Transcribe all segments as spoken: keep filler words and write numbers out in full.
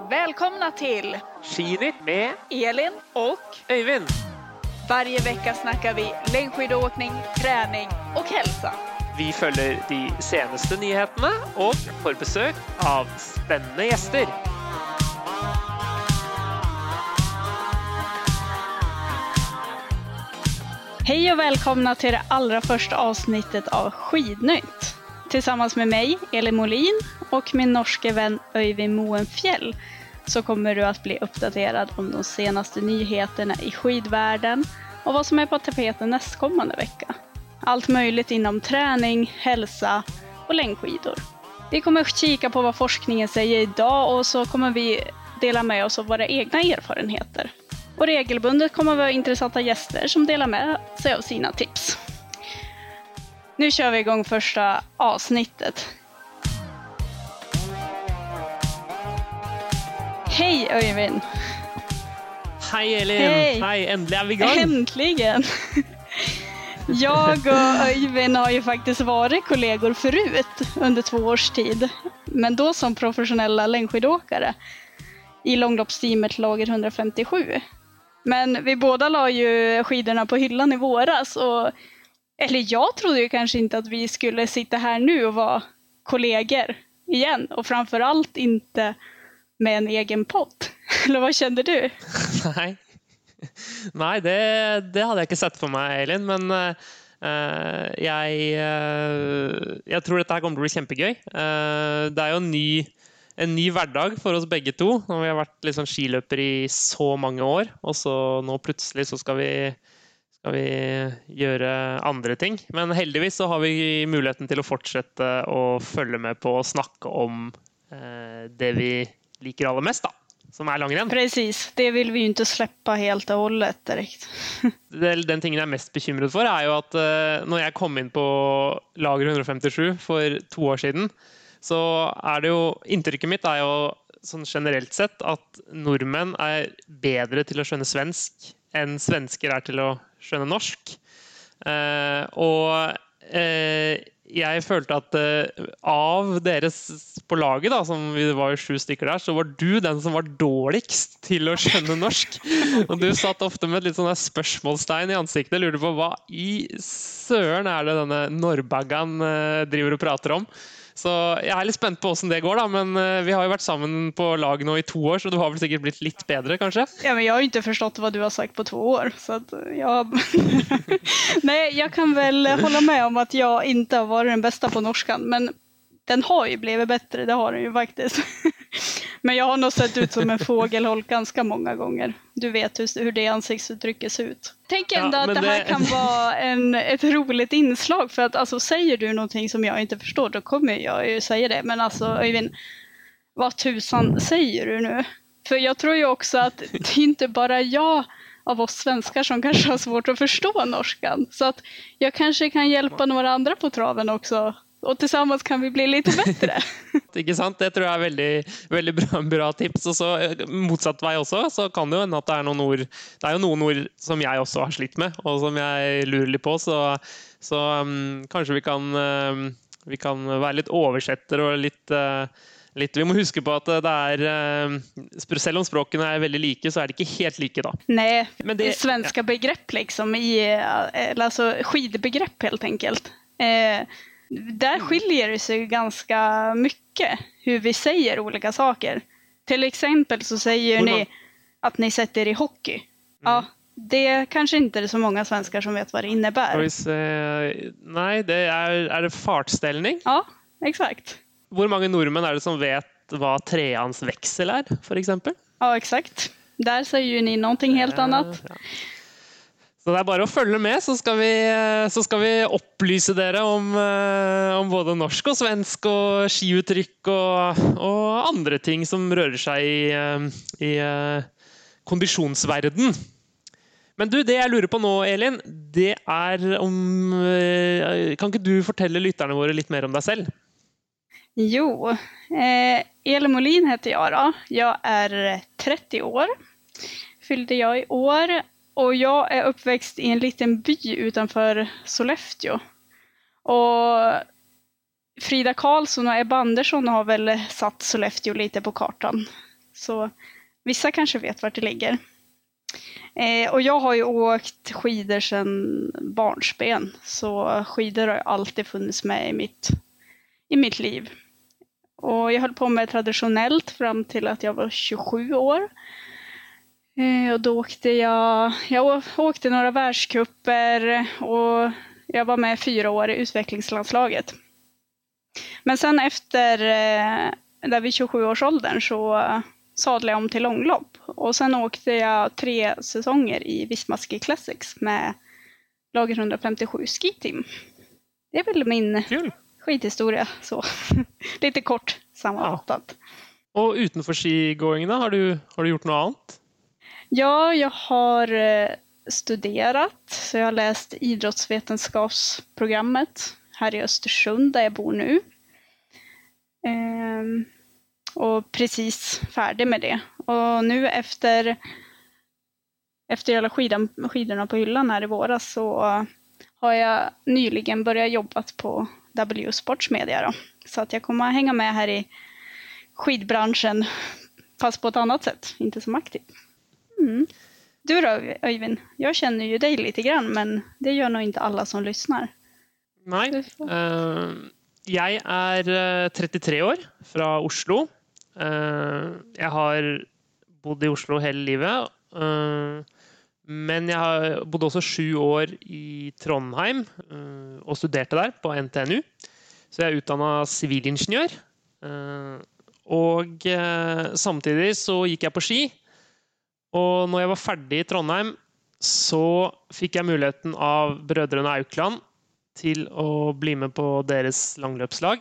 Välkomna till Skiritt med Elin och Öyvind. Varje vecka snackar vi längdskidåkning, träning och hälsa. Vi följer de senaste nyheterna och får besök av spännande gäster. Hej och välkomna till det allra första avsnittet av Skidnytt. Tillsammans med mig, Elin Molin, och min norske vän Öyvind Moenfjell så kommer du att bli uppdaterad om de senaste nyheterna i skidvärlden och vad som är på tapeten nästkommande vecka. Allt möjligt inom träning, hälsa och längdskidor. Vi kommer kika på vad forskningen säger idag och så kommer vi dela med oss av våra egna erfarenheter. Och regelbundet kommer vi ha intressanta gäster som delar med sig av sina tips. Nu kör vi igång första avsnittet. Hej Öyvind! Hej Elin! Hej. Hej, äntligen är vi igång! Äntligen! Jag och Öyvind har ju faktiskt varit kollegor förut under två års tid. Men då som professionella längdskidåkare i långloppsteamet Lager hundrafemtiosju. Men vi båda la ju skidorna på hyllan i våras. Och, eller jag trodde ju kanske inte att vi skulle sitta här nu och vara kollegor igen. Och framförallt inte med en egen podd. Eller vad kände du? Nej, Nej det, det hade jag inte sett för mig, Elin. Men uh, jag, uh, jag tror att det här kommer att bli jättekul. Uh, det är ju en ny... En ny hverdag för oss begge to. Når vi har vært liksom skiløpere i så mange år, og så nå plutselig så skal vi, skal vi gjøre andre ting. Men heldigvis så har vi muligheten til å fortsette å følge med på og snakke om eh, det vi liker aller mest, da, som er langrenn. Precis, det vill vi ju inte släppa helt och hållet direkt. Den tingen jag är mest bekymrad för är ju att eh, när jag kom in på Lager hundrafemtiosju för två år sedan, så är det ju, intrycket mitt är ju sånn generellt sett att nordmenn är bättre till att skjønne svensk än svenskar är till att skjønne norsk. Eh, och eh, jag følte att eh, av deres på laget då, som vi var ju sju stykker där, så var du den som var dårligst till att skjønne norsk. Och du satt ofta med ett litt sånn der spørsmålstegn i ansiktet, lurte på vad i søren är det denne Norrbaggan eh, driver och pratar om. Så jag är lite spänd på hvordan det går da, men vi har ju varit samman på lag nu i två år, så du har väl säkert blivit lite bättre kanske? Ja, men jag har ju inte förstått vad du har sagt på två år, så att jag... Nej, jag kan väl hålla med om att jag inte har varit den bästa på norskan, men den har ju blivit bättre, det har den ju faktiskt. Men jag har nog sett ut som en fågelholk ganska många gånger. Du vet hur, hur det ansiktsuttrycket ser ut. Tänk ändå ja, att det här det... kan vara en, ett roligt inslag. För att alltså, säger du någonting som jag inte förstår, då kommer jag ju säga det. Men alltså Öyvind, vad tusan säger du nu? För jag tror ju också att det är inte bara jag av oss svenskar som kanske har svårt att förstå norskan. Så att jag kanske kan hjälpa några andra på traven också. Och tillsammans kan vi bli lite bättre. Ikke sant? Det tror jag är väldigt, väldigt bra, bra tips. Och så motsatt vei också, så kan det ju hända att det är någon ord, det är ju någon ord som jag också har slitt med, och som jag lurer litt på, så, så um, kanske vi kan, um, vi kan vara lite översättare och lite, uh, lite, vi må huske på att det är, uh, selv om språken är väldigt lika, så är det inte helt lika då. Nej, men det är svenska ja. begrepp liksom, i, eller alltså skidbegrepp helt enkelt. Eh, Där skiljer det sig ganska mycket hur vi säger olika saker. Till exempel så säger mm. ni att ni sätter i hockey. Mm. Ja, det kanske inte är så många svenskar som vet vad det innebär. Se, nej, det är, är det fartställning? Ja, exakt. Hur många norrmän är det som vet vad treans växel är, för exempel? Ja, exakt. Där säger ju ni någonting helt ja, annat. Ja. Så det är bara att följa med, så ska vi, så ska vi upplysa dere om, om både norsk och svensk och skiuttryck och, och andra ting som rör sig i, i konditionsvärlden. Men du, det jag lurer på nu, Elin, det är om... Kan inte du fortelle lytterne våre lite mer om dig själv? Jo, eh, Elin Molin heter jag då. Jag är trettio år. Fyllde jag i år. Och jag är uppväxt i en liten by utanför Sollefteå. Och Frida Karlsson och Ebba Andersson har väl satt Sollefteå lite på kartan. Så vissa kanske vet vart det ligger. Eh, och jag har ju åkt skidor sedan barnsben. Så skidor har alltid funnits med i mitt, i mitt liv. Och jag höll på med traditionellt fram till att jag var tjugosju år. Eh, och då åkte jag, jag åkte några världscuper och jag var med fyra år i utvecklingslandslaget. Men sen efter, eh, där vid tjugosju-årsåldern så sadlade jag om till långlopp. Och sen åkte jag tre säsonger i Visma Ski Classics med Lager hundrafemtiosju Ski Team. Det är väl min Kul. skidhistoria så. Lite kort sammanfattat. Ja. Och utanför skigåingene, har du, har du gjort något annat? Ja, jag har studerat. Så jag har läst idrottsvetenskapsprogrammet här i Östersund där jag bor nu. Ehm, och precis färdig med det. Och nu efter, efter jag la skidan, skidorna på hyllan här i våras så har jag nyligen börjat jobba på W Sports Media då. Så att jag kommer att hänga med här i skidbranschen fast på ett annat sätt, inte som aktiv. Mm. Du då, Öyvind? Jag känner ju dig lite grann, men det gör nog inte alla som lyssnar. Nej, uh, jag är trettiotre år från Oslo. Uh, jag har bott i Oslo hela livet, uh, men jag har bodde också sju år i Trondheim uh, och studerade där på N T N U. Så jag är utdannet civilingenjör. Uh, och uh, samtidigt så gick jag på ski. Och när jag var färdig i Trondheim så fick jag möjligheten av bröderna Aukland till att bli med på deras långlöpslag.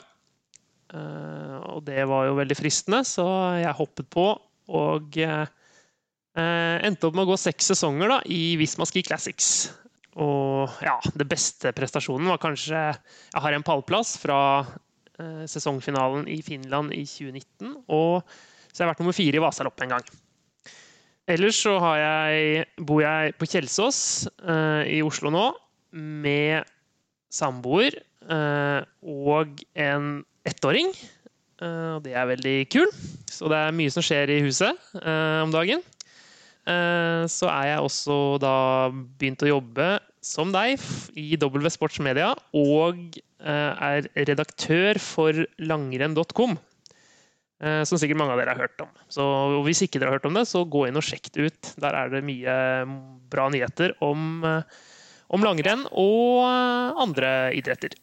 Uh, och det var ju väldigt fristande så jag hoppade på och uh, endte upp med att gå sex säsonger då, i Visma Ski Classics. Och ja, det bästa prestationen var kanske, jag har en pallplats från uh, säsongfinalen i Finland i tjugonitton och så har jag varit nummer fyra i Vasalopp en gång. Ellers så har jeg, bor jeg på Kjelsås uh, i Oslo nå med samboer uh, og en ettåring. Uh, det er veldig kul. Så det er mye som skjer i huset uh, om dagen. Uh, så er jeg også da begynt å jobbe som deg i W Sports Media og uh, er redaktør for langrenn punktum com. Som sikkert mange av dere har hørt om. Så hvis ikke dere har hørt om det, så gå inn og sjekk det ut. Der er det mye bra nyheter om, om langrenn og andre idretter.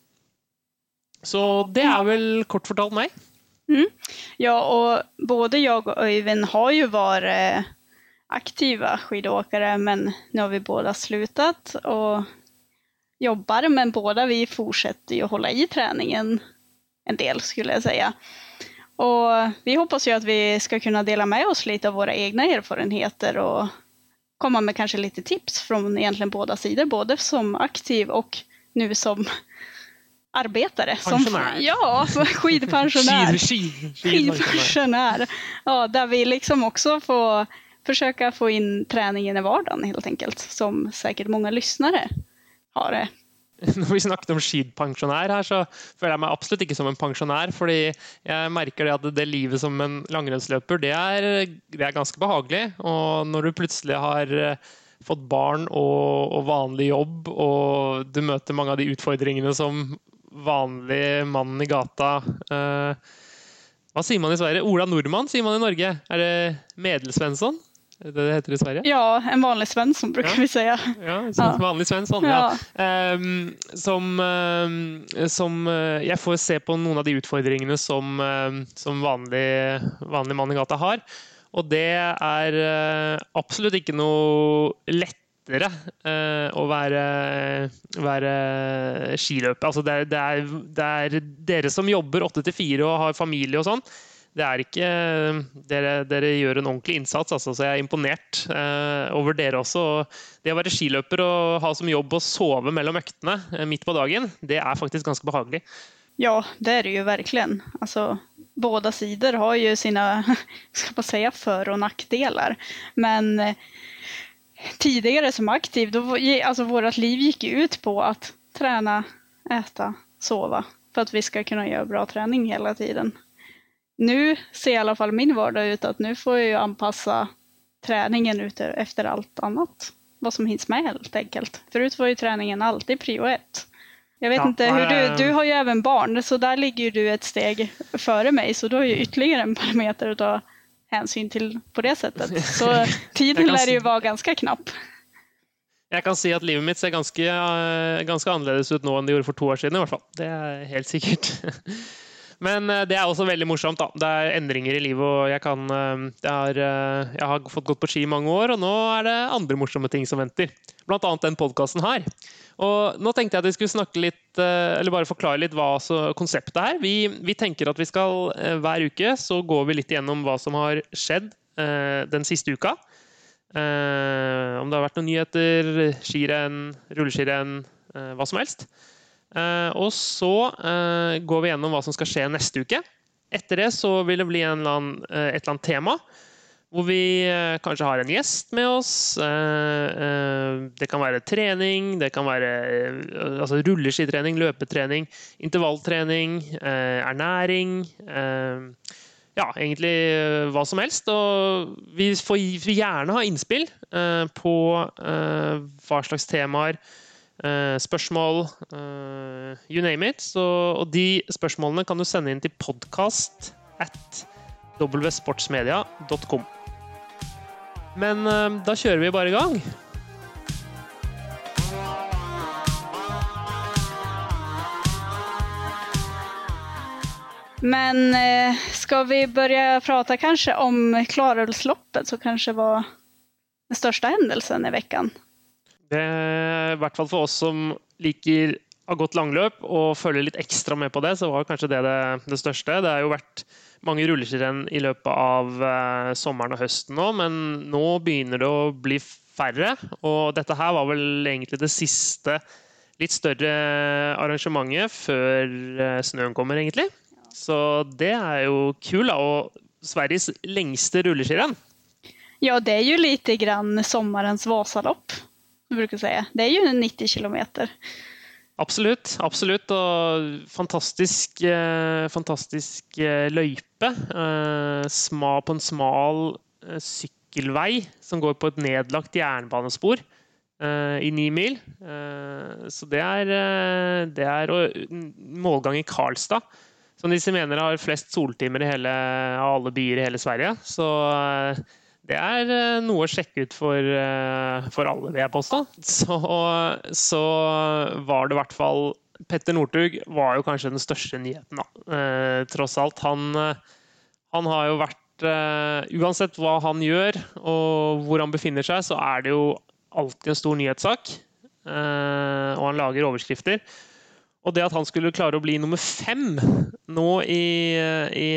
Så det är väl kort fortalt mig. Mm. Ja, och både jag och Öyvind har ju varit aktiva skidåkare, men nu har vi båda slutat och jobbar, men båda vi fortsätter ju hålla i träningen en del skulle jag säga. Och vi hoppas ju att vi ska kunna dela med oss lite av våra egna erfarenheter och komma med kanske lite tips från egentligen båda sidor, både som aktiv och nu som arbetare. Pensionär. Som, ja, skidpensionär. Skid, skid, skidpensionär. Ja, där vi liksom också får försöka få in träningen i vardagen helt enkelt, som säkert många lyssnare har det. Når vi snakket om skidpensionær her, så føler jeg meg absolutt ikke som en pensjonær, fordi jeg merker det at det livet som en langrennsløper, det er, det er ganske behagelig. Og når du plutselig har fått barn og, og vanlig jobb, og du møter mange av de utfordringene som vanlig mann i gata, eh, hva sier man i Sverige? Ola Nordmann sier man i Norge. Er det Medelsvensson? Det det heter i Sverige? Ja, en vanlig Svensson brukar ja. vi säga. Ja, som ja. vanlig Svensson. Ja. Ja. Um, som, um, som uh, jag får se på någon av de utfordringene som, um, som vanlig, vanlig man i gata har. Och det är uh, absolut inte något lättare uh, att vara, vara skiløper. Alltså det, det, är, det är dere som jobbar åtta till fyra och har familj och sånt. Det är inte, dere, dere gör en ordentlig insats, alltså, så jag är imponert eh, över dere också. Det att vara skiløper och ha som jobb att sova mellan ökterna eh, mitt på dagen, det är faktiskt ganska behagligt. Ja, det är det ju verkligen. Alltså, båda sidor har ju sina, ska man säga, för- och nackdelar. Men eh, tidigare som aktiv, då, alltså, vårt liv gick ju ut på att träna, äta, sova för att vi ska kunna göra bra träning hela tiden. nu ser i alla fall min vardag ut att nu får jag ju anpassa träningen ut efter allt annat. Vad som hinns med helt enkelt. Förut var ju träningen alltid prio ett. Jag vet ja, inte hur du, du har ju även barn, så där ligger ju du ett steg före mig, så då är ju ytterligare en parameter att ta hänsyn till på det sättet. Så tiden lär ju vara ganska knapp. Jag kan säga att livet mitt ser ganska, ganska annorlunda ut nu än det gjorde för två år sedan i alla fall. Det är helt säkert. Men det är också väldigt morsomt då. Det är ändringar i livet och jag kan det är, jag har fått gått på ski i många år och nu är det andra morsamma ting som väntar. Bland annat den podcasten här. Och nu tänkte jag att vi skulle snacka lite eller bara förklara lite vad så konceptet här. Vi vi tänker att vi ska hver uke så går vi lite igenom vad som har skett den sista uka. Om det har varit några nyheter, skirenn, rulleskirenn, vad som helst. Uh, och så uh, går vi igenom vad som ska ske nästa vecka. Efter det så vill det bli en eller annen, uh, ett eller annat tema hvor vi uh, kanske har en gäst med oss. Uh, uh, det kan vara träning, det kan vara uh, alltså rulleskiträning, löpeträning, intervallträning, uh, ernäring. Uh, ja, egentligen uh, vad som helst. Och vi får vi gärna ha inspill uh, på uh, vad slags temaer. Uh, spørsmål, uh, you name it. Så, og de spørsmålene kan du sende inn til podcast at w sportsmedia dot com. Men uh, da kjører vi bare i gang. Men eh, ska vi börja prata kanske om Klarälvsloppet, så kanske var den största händelsen i veckan? Det är i hvert fall för oss som liker har gått langløp og følger litt ekstra med på det, så var kanskje det det, det største. Det har jo vært mange rulleskirenn i løpet av eh, sommeren og høsten nå, men nå begynner det å bli færre, og dette her var vel egentlig det siste litt større arrangementet før eh, snøen kommer egentlig. Så det är ju kul, och Sveriges längsta rulleskirenn. Ja, det är ju lite grann sommarens Vasalopp, jag brukar säga. Det är ju nittio kilometer. Absolut, absolut, och fantastisk eh, fantastisk eh, løype eh, sma på en smal eh, cykelväg som går på ett nedlagt jernbanespor eh, i nio mil. Eh, så det är eh, det är och målgång i Karlstad. Som disse mener har flest soltimer i hele, av alle byer i hele Sverige. Så det er noe å sjekke ut for, for alle, vil jeg påstå. Så, så var det i hvert fall Petter Northug var jo kanskje den største nyheten da. Eh, tross alt, han, han har jo vært, eh, uansett hva han gjør og hvor han befinner seg, så er det jo alltid en stor nyhetssak. Eh, og han lager overskrifter. Och det att han skulle klara att bli nummer fem nå i, i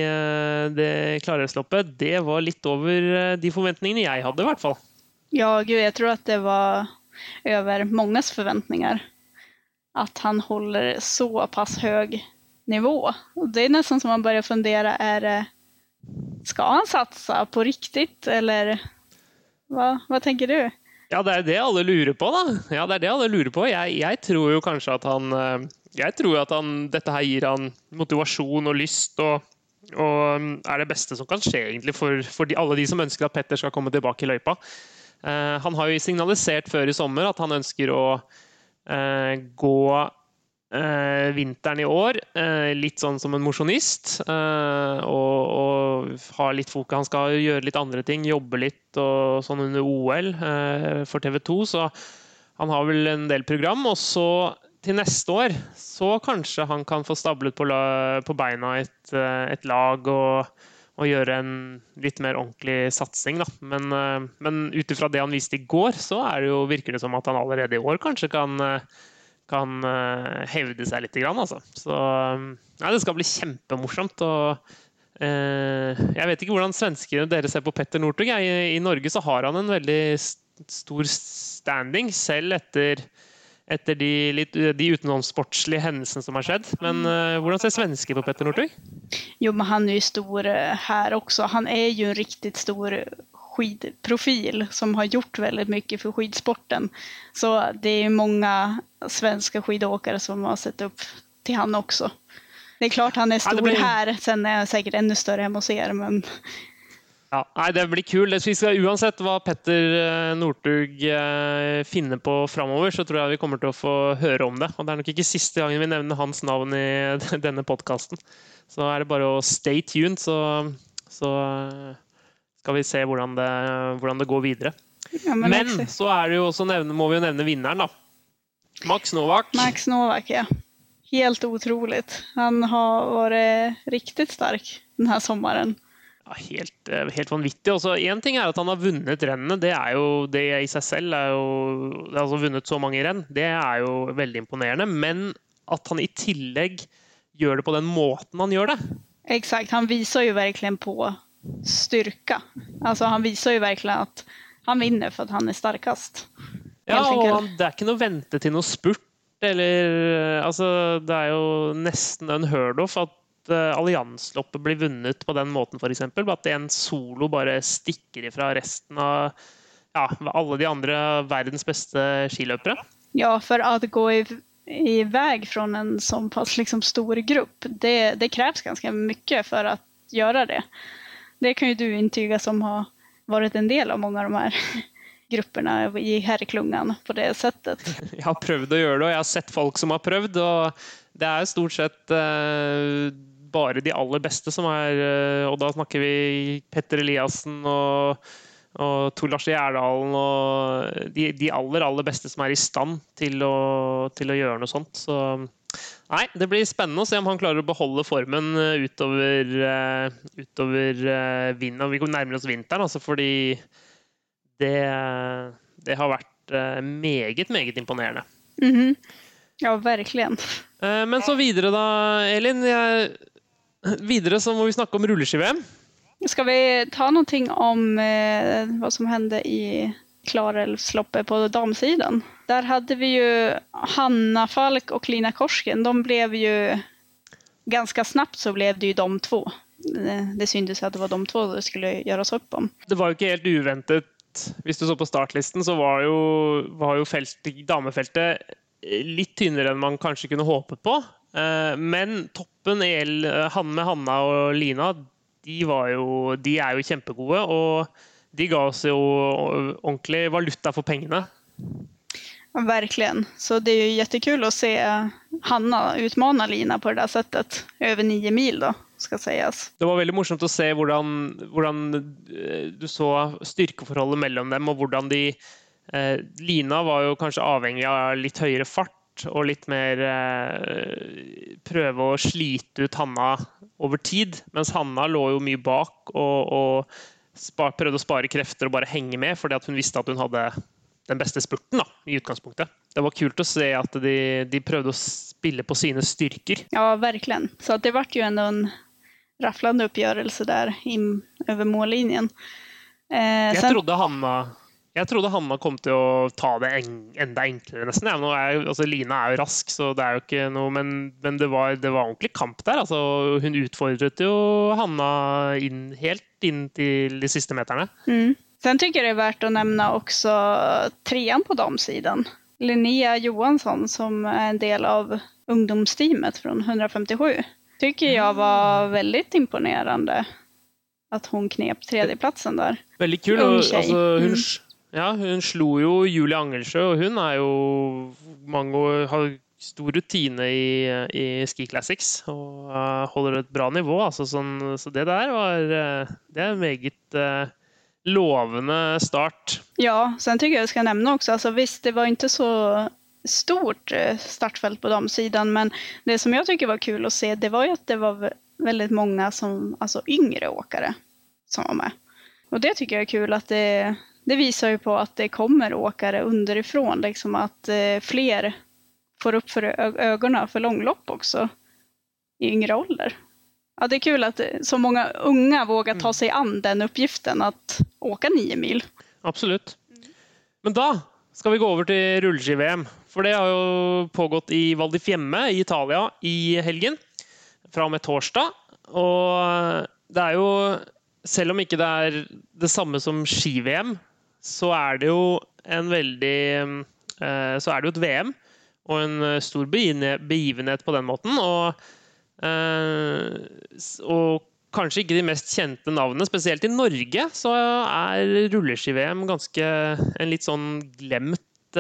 det Klarälvsloppet, det var lite över de förväntningarna jag hade i hvert fall. Ja, gud, jag tror att det var över mångas förväntningar. Att han håller så pass hög nivå. Och det är nästan som man börjar fundera, är det, ska han satsa på riktigt eller vad, vad tänker du? Ja, det är det alla lurer på då. Ja, det är det alla lurer på. Jag, jag tror ju kanske att han jag tror att han detta här ger han motivation och lust och och är det bästa som kan ske egentligen för för de, alla de som önskar att Petter ska komma tillbaka i löypa. Uh, han har ju signaliserat för i sommar att han önskar att uh, gå uh, vintern i år uh, lite sån som en motionist uh, och och ha lite fokus, han ska göra lite andra ting, jobba lite och sån under O L uh, för T V två, så han har väl en del program, och så till nästa år så kanske han kan få stablet på, på beina ett, ett lag och, och göra en lite mer ordentlig satsning då. Men, men utifrån det han visste igår så är det ju, virker det som att han allerede i år kanske kan, kan hävda sig lite grann alltså. Så ja, det ska bli jättemorsamt, och eh, jag vet inte hur svenskar dere ser på Petter Northug. I, I Norge så har han en väldigt stor standing selv efter efter de, lite, de utenomsportsliga händelserna som har skett. Men uh, hur ser svenskar på Petter Northug? Jo, men han är ju stor här också. Han är ju en riktigt stor skidprofil som har gjort väldigt mycket för skidsporten. Så det är många svenska skidåkare som har sett upp till han också. det är klart han är stor ja, blir... här, sen är jag säkert ännu större hemma hos er, men... Ja, nei, det blir kul. Vi skal, uansett hva Petter Northug finner på fremover, så tror jeg vi kommer til å få høre om det. Og det er nok ikke siste gangen vi nevner hans navn i denne podcasten. Så er det bare å stay tuned, så, så skal vi se hvordan det, hvordan det går videre. Ja, men men så er det jo også nevne, må vi jo nevne vinneren da. Max Novak. Max Novak, ja. Helt otroligt. Han har varit riktigt stark den här sommaren. Ja, helt, helt vanvittig. Også, en ting er at han har vunnet rennene, det er jo det i seg selv, er jo, altså vunnet så mange renn, det er jo veldig imponerende, men at han i tillegg gjør det på den måten han gjør det. Exakt, han visar ju verkligen på styrka. Alltså han visar ju verkligen att han vinner för att han är starkast. Ja, og han, det er ikke noe vente til noe spurt, eller, altså det er jo nesten unheard of at alliansloppet blir vunnet på den måten for eksempel, at en solo bare stikker ifra resten av ja, alle de andre verdens beste skiløpere. Ja, för att gå i, iväg från en sån pass liksom stor grupp, det, det krävs ganska mycket för att göra det. Det kan ju du intyga som har varit en del av många av de här grupperna i herreklungan på det sättet. Jeg har prøvd å gjøre det, og jeg har sett folk som har prøvd, og det er stort sett eh, bare de aller beste som er, og da snakker vi Petter Eliassen og, og Tor Lars Gjerdalen, og de, de aller, aller beste som er i stand til å, til å gjøre noe sånt. Så nei, det blir spennende å se om han klarer å beholde formen utover, uh, utover uh, vinteren, og vi kommer nærmere oss vinteren, altså fordi det, det har vært uh, meget, meget imponerende. Mhm. Ja, verkligen. Uh, men så videre da, Elin, jeg vidare så må vi snakke om rulleski-V M. Ska vi ta någonting om eh, vad som hände i Klarälvsloppet på damsidan? Där hade vi ju Hanna Falk och Lina Korsken. De blev ju ganska snabbt så blev det ju de två. Det, det syntes att det var de två det skulle göras upp om. Det var ju inte helt uventet. Hvis du så på startlisten så var jo, var jo felt, damefeltet litt tynnere enn man kanskje kunne håpet på. Men toppen El, han med Hanna og Lina, de, var jo, de er jo kjempegode, og de ga oss jo ordentlig valuta for pengene. Ja, verkligen. Så det är ju jättekul att se Hanna utmana Lina på det där sättet. Över nio mil då, ska sägas. Det var väldigt morsomt att se hvordan, hvordan du så styrkeforholdet mellom dem, og hvordan de... Eh, Lina var jo kanskje avhengig av litt høyere fart, og litt mer eh, prøve å slite ut Hanna over tid, mens Hanna lå jo mye bak og, og spar, prøvde å spare krefter og bare henge med, fordi at hun visste at hun hadde den beste spurten da, i utgangspunktet. Det var kult å se at de, de prøvde å spille på sine styrker. Ja, verkligen. Så att det var ju ändå en rafflande uppgörelse där in, över mållinjen. Eh, Jeg sen... trodde Hanna... Jeg trodde Hanna kom til å ta det en, enda enklere nesten. Ja, nå er, altså, Lina er jo rask, så det er jo ikke noe, men, men det, var, det var ordentlig kamp der. Altså, hun utfordret jo Hanna inn, helt inn til de siste meterne. Mm. Sen tycker jag det är värt att nämna också trean på damsidan. Linnea Johansson som är en del av ungdomsteamet från hundrafemtiosju. Tycker jag var väldigt imponerande att hon knep tredjeplatsen där. Väldigt kul. Och, alltså, hun, mm. ja, hun slo jo Julie Angelsjø, og hun er jo mange år, har stor rutine i, i Ski Classics og uh, holder et bra nivå. Altså, sånn, så det der var uh, det er en meget uh, lovende start. Ja, sen tycker jag jag ska nämna också, alltså visst det var inte så stort startfält på damsidan, men det som jag tycker var kul att se, det var ju att det var väldigt många som, alltså yngre åkare som var med. Och det tycker jag är kul att det, det visar ju på att det kommer åkare underifrån, liksom att eh, fler får upp för ögonen för långlopp också i yngre ålder. Ja, det är kul att så många unga vågar ta sig an den uppgiften att åka nio mil. Absolut. Men da skal vi gå over til rulleski-V M. For det har jo pågått i Val di Fiemme i Italia i helgen, fra og med torsdag. Og det er jo, selv om ikke det er det samme som ski-V M, så er det jo en veldig, så er det jo et V M, og en stor begivenhet på den måten. Og Og kanskje ikke de mest kjente navnene, spesielt i Norge, så er rulleski-V M ganske en litt sånn glemt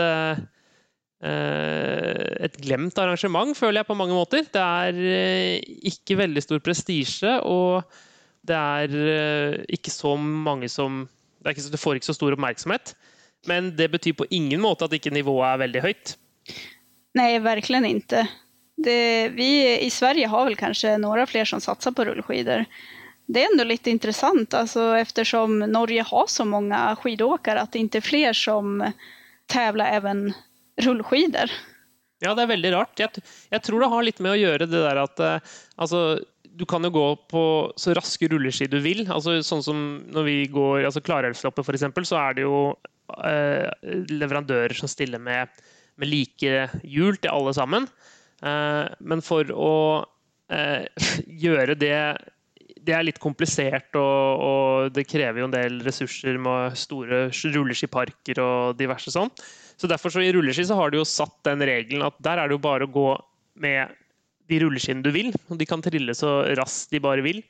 et glemt arrangement, føler jeg på mange måter. Det er ikke veldig stor prestisje, og det er ikke så mange som det, er ikke, det får ikke så stor oppmerksomhet. Men det betyr på ingen måte at ikke nivået er veldig høyt. Nej, verkligen inte. Det, vi i Sverige har väl kanske några fler som satsar på rullskidor. Det är ändå lite intressant, alltså, eftersom Norge har så många skidåkare, att det inte är fler som tävlar även rullskidor. Ja, det er veldig rart. Jeg, jeg tror det har litt med å gjøre det der at altså, du kan jo gå på så raske rulleski du vil. Altså, sånn som når vi går altså Klarälvsloppet for eksempel, så er det jo eh, leverandører som stiller med, med like hjul til alle sammen. Eh, men for å eh, gjøre det det er litt komplisert, og, og det krever jo en del ressurser med store rulleskiparker og diverse sånn. Så derfor så i rulleski så har du jo satt den regelen at der er det jo bare å gå med de rulleskiene du vil, og de kan trille så raskt de bare vil.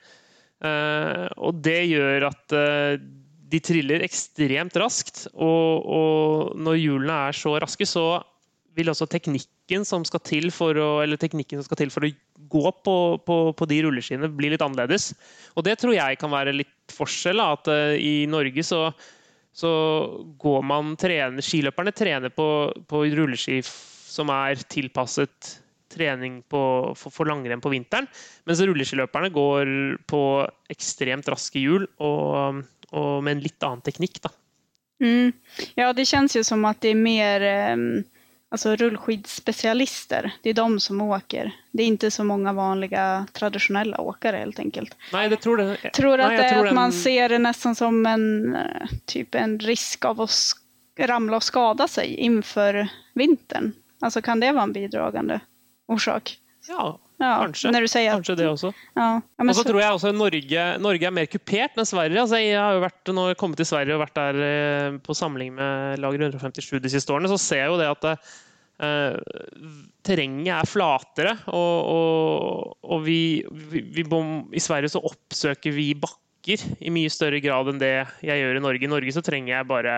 Uh, og det gjør at uh, de triller ekstremt raskt, og, og når hjulene er så raske, så vil også teknikken som skal til for å, eller teknikken som skal til for å gå på, på, på de rulleskiene bli litt annerledes. Og det tror jeg kan være litt forskjell, at uh, i Norge så, så går man trener, skiløperne trener på, på rulleski som er tilpasset trening på, for, for langrenn på vinteren, mens rulleskiløperne går på ekstremt raske hjul og, og med en litt annen teknikk da. Mm. Ja, det känns ju som att det är mer um... alltså rullskidspecialister, det är de som åker. Det är inte så många vanliga traditionella åkare helt enkelt. Nej, det tror det. Jag tror att, Nej, det är tror att den... man ser det nästan som en typ en risk av att ramla och skada sig inför vintern. Alltså kan det vara en bidragande orsak? Ja, ja kanskje. När du säger kanskje att... det også. Ja. Ja, og så så... tror jeg også Norge, Norge er mer kupert enn Sverige. Altså, jeg har jo vært, når jeg kommet til Sverige og vært der på samling med lager one femtisju de siste årene, så ser jeg jo det at uh, terrenget er flatere, og, og, og vi, vi, vi bom, i Sverige så oppsøker vi bakker i mye større grad enn det jeg gjør i Norge. I Norge så trenger jeg bare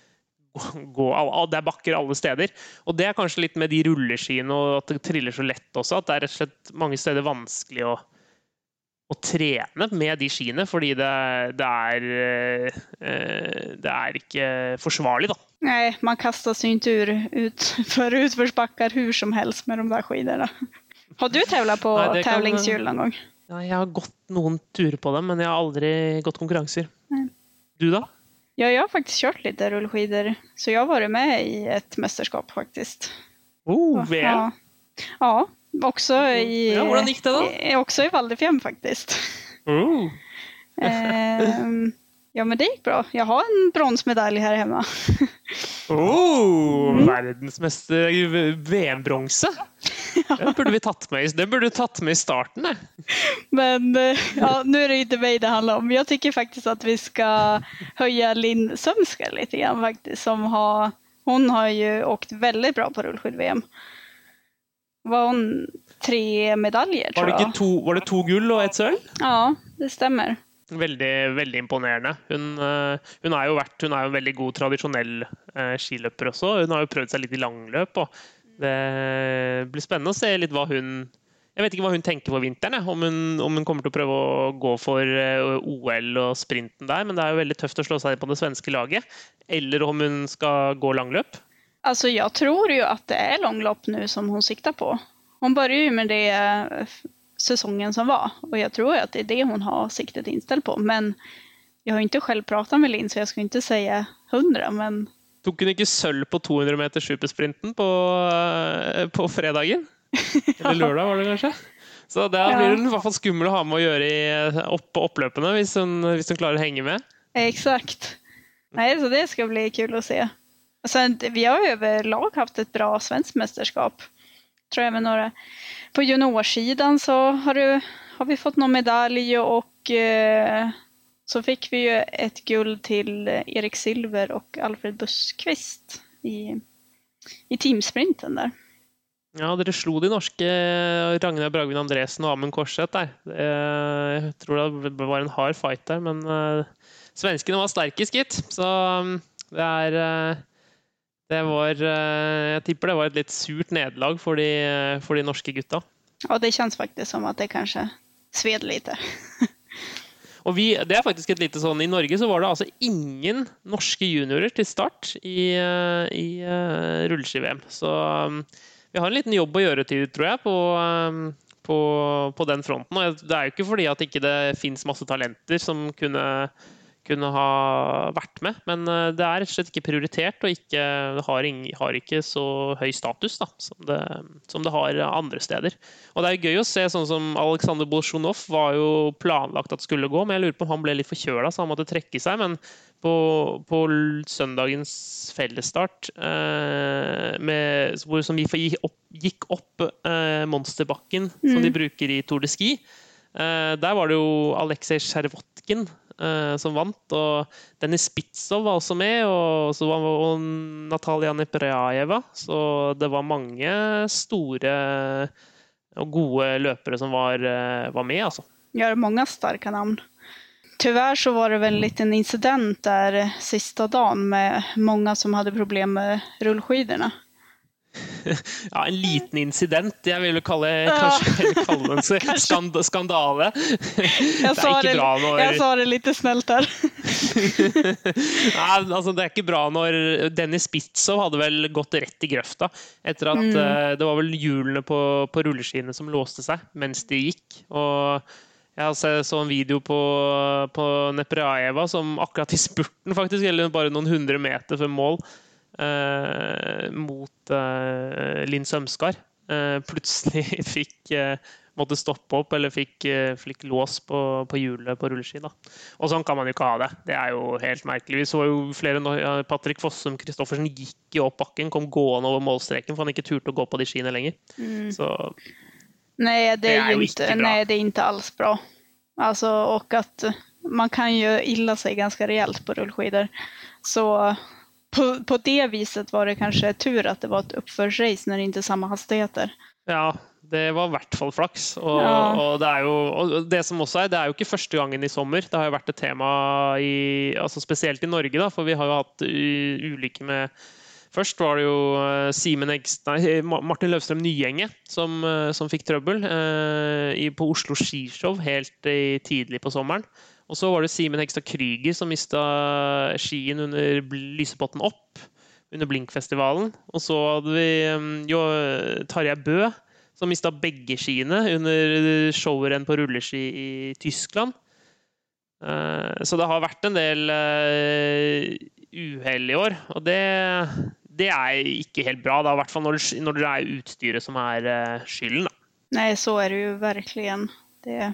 gå, det er bakker alle steder, og det er kanskje litt med de rulleskiene og at det triller så lett også, at det er rett og slett mange steder vanskelig å, å trene med de skiene, fordi det, det, er, det er ikke forsvarlig da. Nej, man kastar sig inte ur ut, för utförsbackar hur som helst med de där skidorna. Har du tävlat på Nej, tävlingshjul någon gång? Ja, jag har gått någon tur på dem, men jag har aldrig gått konkurrenser. Nej. Du då? Ja, jag har faktiskt kört lite rullskidor. Så jag har varit med i ett mästerskap faktiskt. Oh, väl. Ja, ja också i... Ja, hvordan gick det då? I, också i Valdefjärden faktiskt. Oh. ehm, ja, men det gick bra. Jag har en bronsmedalj här hemma. Oh, mm. Verdensmester V M-bronse. Ja. Det burde vi tatt med, det burde du tatt med i starten. Ne? Men ja, nu är det inte mig det handlar om. Jag tycker faktiskt att vi ska höja Linn Sömsker lite grann faktiskt. Som har, hon har ju åkt väldigt bra på rullskid-V M. Var hon tre medaljer, tror var det jag. To, var det to gull og ett sølv? Ja, det stämmer. Veldig, veldig imponerende. Hun, hun, er jo vært, hun er jo en veldig god tradisjonell uh, skiløper også. Hun har jo prøvd seg litt i langløp, og det blir spennende å se litt hva hun... Jeg vet ikke hva hun tenker på vinteren, ja. om, hun, om hun kommer til å prøve å gå for uh, O L og sprinten der, men det er jo veldig tøft å slå seg på det svenske laget. Eller om hun skal gå langløp. Alltså jag tror ju att det är långlopp nu som hon siktar på. Hon börjar ju med det säsongen som var. Och jag tror att det är det hon har siktet inställt på. Men jag har inte själv pratat med Linn, så jag ska inte säga hundra. Men... Tog hun ikke sølv på to hundre meter supersprinten på, på fredagen? Eller lørdag var det kanskje? Så det blir hun i hvert fall skummel å ha med å gjøre i, opp på oppløpene hvis hun, hvis hun klarer å henge med. Exakt. Nej, så det ska bli kul att se. Sen, vi har ju överlag haft ett bra svenskt mästerskap. Tror jag med några. På juniorsidan så har, du, har vi fått någon medalj och eh, så fick vi ju ett guld till Erik Silver och Alfred Buskvist i, i teamsprinten där. Ja, dere slo de norske Ragnar Bragvin Andresen og Amund Korseth der. Jeg tror det var en hard fight der, men svenskene var sterke skitt. Så det er det var, jeg tipper det var et litt surt nederlag for de, for de norske gutta. Ja, det känns faktiskt som att det kanske sved lite. Og vi, det er faktisk et lite sånn, i Norge så var det altså ingen norske juniorer til start i, i uh, rulleski-V M. Så um, vi har en liten jobb å gjøre til, tror jeg, på, um, på, på den fronten. Og det er jo ikke fordi at ikke det finnes masse talenter som kunne, kunne ha vært med, men uh, det er rett og slett ikke prioritert, og ikke, det har, ing, har ikke så høy status da, som, det, som det har andre steder. Og det er jo gøy å se, sånn som Alexander Bolsjunov var jo planlagt at skulle gå, men jeg lurer på om han ble litt forkjøla, så han måtte trekke seg, men på, på søndagens fellesstart, eh, med, hvor, som vi gikk opp, gikk opp eh, monsterbakken, mm. som de bruker i Tour de Ski, eh, der var det jo Alexej Shervotkin eh, som vant, og Dennis Spitsov var også med, og så var og Natalia Nepraeva, så det var mange store och goda löpare som var, var med alltså. Ja, det är många starka namn. Tyvärr så var det väl en liten incident där sista dagen med många som hade problem med rullskidorna. Ja, en liten incident. Jag vill kalla ja. kanske kalla det en skand skandale. Jag sa det, bra när... jag sa det lite snällt där. Ja, alltså det är inte bra när Dennis Spitsov hade väl gått rätt i gröfta efter att mm. uh, det var väl hjulene på på rulleskidene som låste sig mens de gick, och jag så en video på på Nepraeva som akkurat i spurten faktiskt, eller bara någon hundra meter för mål. Uh, mot uh, Linn Sømskar uh, plutselig fikk uh, måtte stoppe opp eller fikk, uh, fikk lås på, på hjulet på rulleski da. Og sånn kan man jo ikke ha det. Det er jo helt merkelig. Vi så jo flere, uh, Patrick Fossum Kristoffersen gikk jo opp bakken, kom gående over målstreken for han ikke turte å gå på de skiene lenger. Mm. Så nej, det, det är ju inte, nej, det är inte alls bra. Alltså, och att man kan ju illa sig ganska rejält på rullskidor. Så På, på det viset var det kanske tur att det var ett uppförsrace när det inte är samma hastigheter. Ja, det var i hvert fall flaks. Og, ja. og, det er jo, og det som også er, det er jo ikke første gangen i sommer. Det har jo vært et tema, i, altså spesielt i Norge, da, for vi har jo hatt ulykker med... Først var det jo Simen Egst, nei, Martin Løvstrøm Nyenge som, som fikk trøbbel eh, i, på Oslo Skishow helt i, tidlig på sommeren. Og så var det Simen Hegstad Kryger som mistet skien under Lysepotten opp under Blinkfestivalen. Og så hadde vi jo Tarjei Bø som mistet begge skiene under showeren på rulleski i Tyskland. Så det har vært en del uhell i år, og det, det er ikke helt bra, da, i hvert fall når det, når det er utstyret som er skylden. Da. Nej, så är det ju verkligen. Det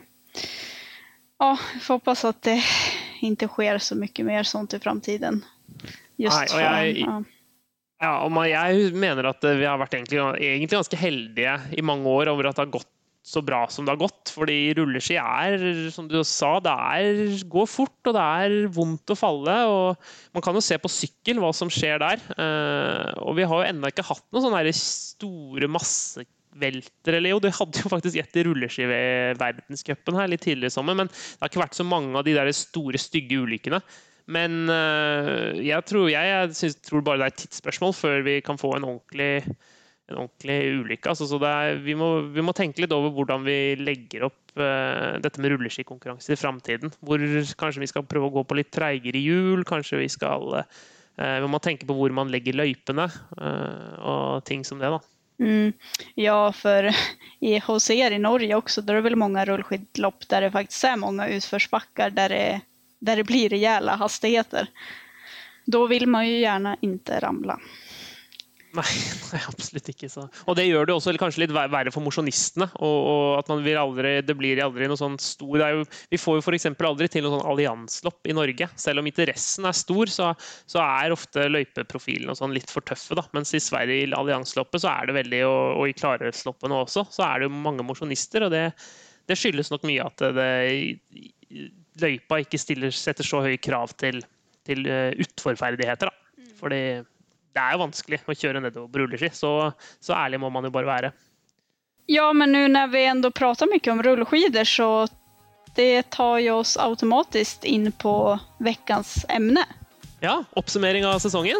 Ja, jag får hoppas att det inte sker så mycket mer sånt i framtiden. Just Nej, och jag, ja. Ja, och man, jag menar att vi har varit egentligen, egentligen ganska heldiga i många år över att det har gått så bra som det har gått. För det rulleski är, som du sa, det är, går fort och det är vondt att falla. Och man kan ju se på cykel vad som sker där. Uh, och vi har ju ännu inte haft någon sån här stora masse velter, eller jo, det hadde jo faktisk ett i rulleski ved verdenscupen her litt tidligere i sommer, men det har ikke vært så mange av de der store, stygge ulykkene. Men uh, jeg, tror, jeg, jeg synes, tror bare det er et tidsspørsmål før vi kan få en ordentlig, en ordentlig ulykke. Altså, så det er, vi, må, vi må tenke litt over hvordan vi legger opp uh, dette med rulleskikonkurranser i fremtiden. Hvor kanskje vi skal prøve å gå på litt treigere hjul, kanskje vi skal uh, vi må tenke på hvor man legger løypene uh, og ting som det da. Mm. Ja, för i H C R i Norge också, där är det väl många rullskidlopp där det faktiskt är många utförsbackar där det, där det blir rejäla hastigheter. Då vill man ju gärna inte ramla. Nej, nej, absolut inte så. Och det gör det också eller kanske lite värre för motionistene och, och att man vill aldrig det blir aldrig någon sån stor det är ju, vi får ju för exempel aldrig till någon sån allianslopp i Norge. Selv om interessen är stor så så är ofta løypeprofilen och sån lite för tuffe då. Men i Sverige i alliansloppet så är det väldigt och, och i klarhetsloppen också så är det många motionister och det det skyldes nog mycket att det løypa inte stiller sätter så höga krav till till utforferdigheter då. För det det är ju vanskligt att köra nedover på rulleski, så, så ärlig må man ju bara vara. Ja, men nu när vi ändå pratar mycket om rullskidor så det tar ju oss automatiskt in på veckans ämne. Ja, uppsummering av säsongen.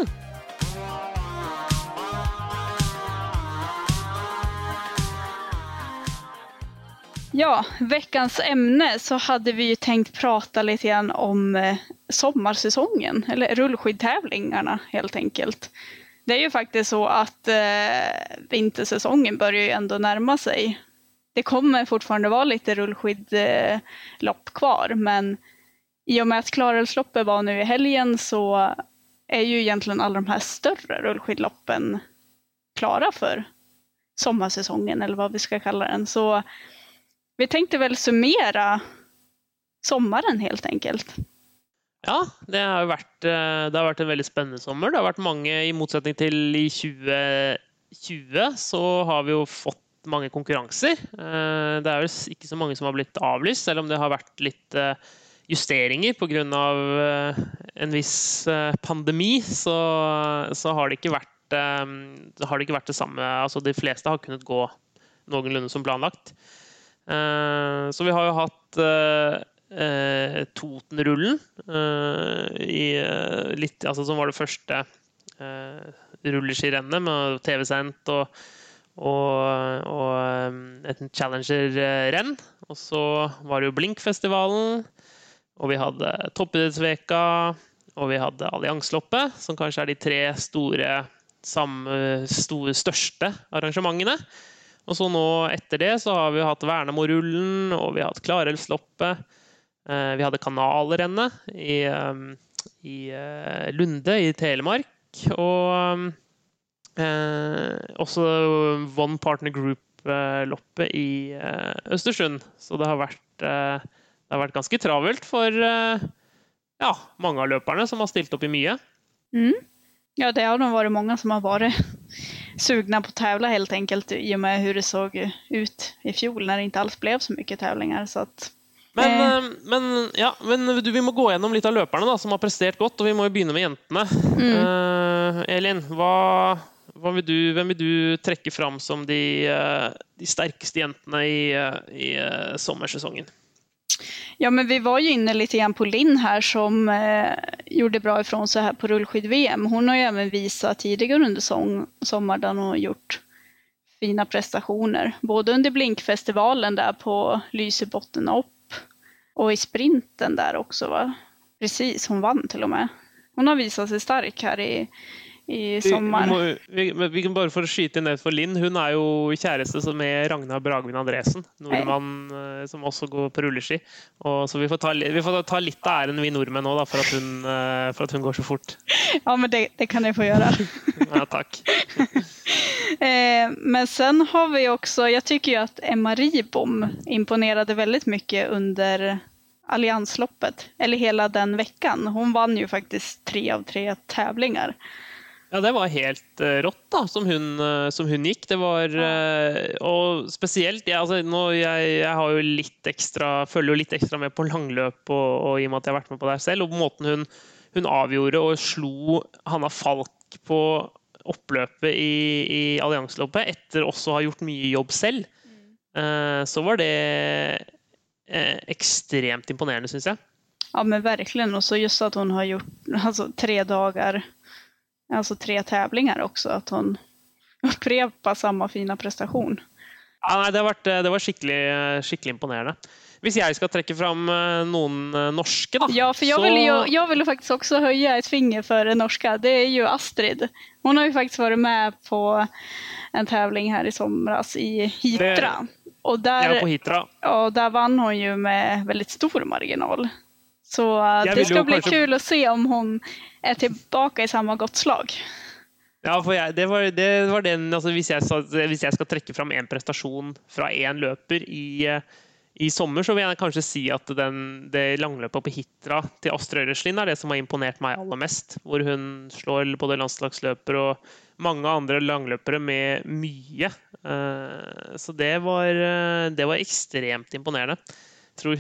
Ja, veckans ämne så hade vi ju tänkt prata lite grann om eh, sommarsäsongen, eller rullskidtävlingarna helt enkelt. Det är ju faktiskt så att eh, vintersäsongen börjar ju ändå närma sig. Det kommer fortfarande vara lite rullskidlopp kvar, men i och med att Klarälvsloppet var nu i helgen så är ju egentligen alla de här större rullskidloppen klara för sommarsäsongen, eller vad vi ska kalla den. Så vi tänkte väl summera sommaren helt enkelt. Ja, det har varit, det har varit en väldigt spännande sommar. Det har varit många, i motsättning till i tjugo tjugo så har vi ju fått många konkurrenser. Det är väl inte så många som har blivit avlyst, eller om det har varit lite justeringar på grund av en viss pandemi, så, så har det inte varit, har det inte varit det samma. Alltså de flesta har kunnat gå någorlunda som planlagt. Så vi har ju haft eh, Totenrullen eh, i litt, altså som var det første eh, rulleskirennet med T V-sendt og, og, og et challenger-renn. Og så var det jo Blinkfestivalen, og vi hadde Toppidrettsveka, og vi hadde Alliansloppet, som kanskje er de tre store, samme, store største arrangementene. Og så nå etter det så har vi hatt Värnamo-rullen, og vi har hatt Klarälvsloppet. Vi hadde Kanalrennet i, i Lunde i Telemark, og eh, også One Partner Group-loppet i Östersund. Så det har vært, det har vært ganske travelt for ja, mange av løperne som har stilt opp i mye. Mm. Ja, det har nog varit många som har varit sugna på att tävla helt enkelt i och med hur det såg ut i fjol när det inte alls blev så mycket tävlingar. Så att, men, eh. men, ja, men du, vi må gå igenom lite av löparna da, som har presterat gott, och vi må ju börja med jentene. Mm. Uh, Elin, vad, vad vill du, vem vill du träcka fram som de, de starkaste jentene i, i uh, sommarsäsongen? Ja, men vi var ju inne lite grann på Linn här som eh, gjorde bra ifrån sig här på rullskid-V M. Hon har ju även visat tidigare under sång, sommar där hon har gjort fina prestationer. Både under Blinkfestivalen där på Lysebotten upp och i sprinten där också, va? Precis, hon vann till och med. Hon har visat sig stark här i, i sommar. Vi, vi, vi kan bara få skyte ner för Linn. Hon är ju käreste med Ragnar Bragvin Andresen, nordmann hey. Som också går på rulleski. Och så vi får ta vi får ta lite ären vi nordmän då, då för att hon för att hon går så fort. Ja, men det, det kan ni få göra. Ja, tack. eh, men sen har vi också, jag tycker ju att Emma Ribom imponerade väldigt mycket under Alliansloppet, eller hela den veckan. Hon vann ju faktiskt tre av tre tävlingar. Ja, det var helt uh, rått da, som hun, uh, som hun gikk. Det var, uh, og spesielt, ja, altså, nå, jeg, jeg har jo litt ekstra, følger jo litt ekstra med på langløp, og, og i og med at jeg har vært med på det selv, og på måten hun, hun avgjorde og slo Hanna Falk på oppløpet i, i Alliansloppet, etter også å ha gjort mye jobb selv, uh, så var det uh, ekstremt imponerende, synes jeg. Ja, men verkligen. Och så just att hon har gjort alltså, tre dagar, alltså tre tävlingar också, att hon upprepar samma fina prestation. Ja, nej, det har varit det var skickligt skickligt imponerande. Hvis jag ska träcka fram någon norska då. Ja, för jag så... vill ju jag vill faktiskt också höja ett finger för det norska. Det är ju Astrid. Hon har ju faktiskt varit med på en tävling här i somras i Hitra. Det... Och där ja, på Hitra. Och där vann hon ju med väldigt stor marginal. Så det ska bli kanske... kul att se om hon är tillbaka i samma gott slag. Ja, för jag, det var det var den alltså hvis jag hvis jag ska träcka fram en prestation från en löper i i sommar, så vill jag kanske si att den det langløpet på Hitra till Astrid Øyreslien är det som har imponerat mig allra mest, hvor hon slår både landslagsløper och många andra langløpere med mycket. Så det var det var extremt imponerande. Tror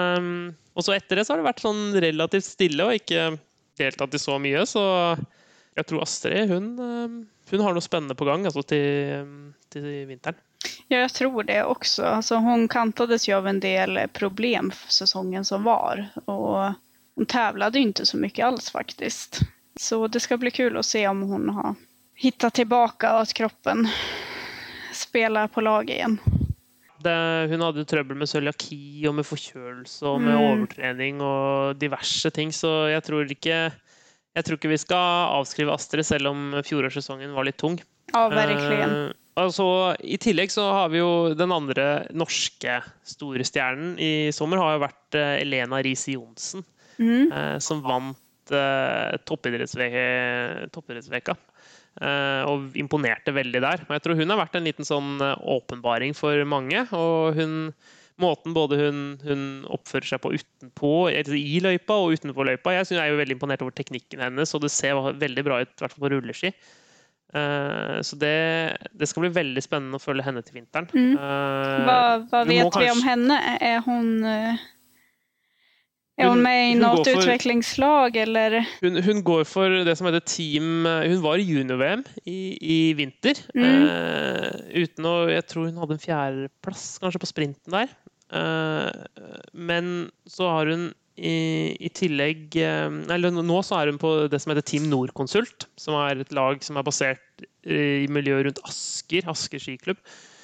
hun, og så etter det så har det vært sånn relativt stille og ikke deltatt i så mye, så, Jeg tror Astrid, hun, hun har noe spennende på gang alltså, till, till vintern. Ja, jag tror det också. Alltså, hon kantades ju av en del problem för säsongen som var. Och hon tävlade ju inte så mycket alls faktiskt. Så det ska bli kul att se om hon har hittat tillbaka och att kroppen spelar på lag igen. Det, hun hadde trøbbel med cøliaki og med forkjølelse og med Mm. overtrening og diverse ting, så jeg tror ikke jeg tror ikke vi skal avskrive Astrid, selv om fjorårssesongen var litt tung. Ja, verkligen. Eh, altså, I tillegg så har vi jo den andre norske store stjernen i sommer har jo vært eh, Elena Riise Johnsen, Mm. eh, som vant eh, toppidrettsve- toppidrettsveka. Eh, og imponerte veldig der. Og jeg tror hun har vært en liten sånn eh, åpenbaring for mange, og hun, måten både hun, hun oppfører seg på utenpå, altså i løypa og utenpå løypa. Jeg synes jeg er jo veldig imponert over teknikken hennes, og det ser veldig bra ut, i hvert fall på rulleski. Eh, så det, det skal bli veldig spennende å følge henne til vinteren. Mm. Eh, Vad, vad vi må vet vi om kanskje- henne? Är hon, eh, är hon Hun- med i hun något går för- utvecklingslag eller? Hun, hun går for det som heter team. Hun var i junior-V M i, i vinter. Mm. Eh, uten å, jeg tror hun hadde en fjerdeplass kanskje på sprinten der. Eh, men så har hun i, i tillegg eh, eller nå så er hun på det som heter Team Nordkonsult, som er et lag som er basert i miljøet rundt Asker, Asker skiklubb.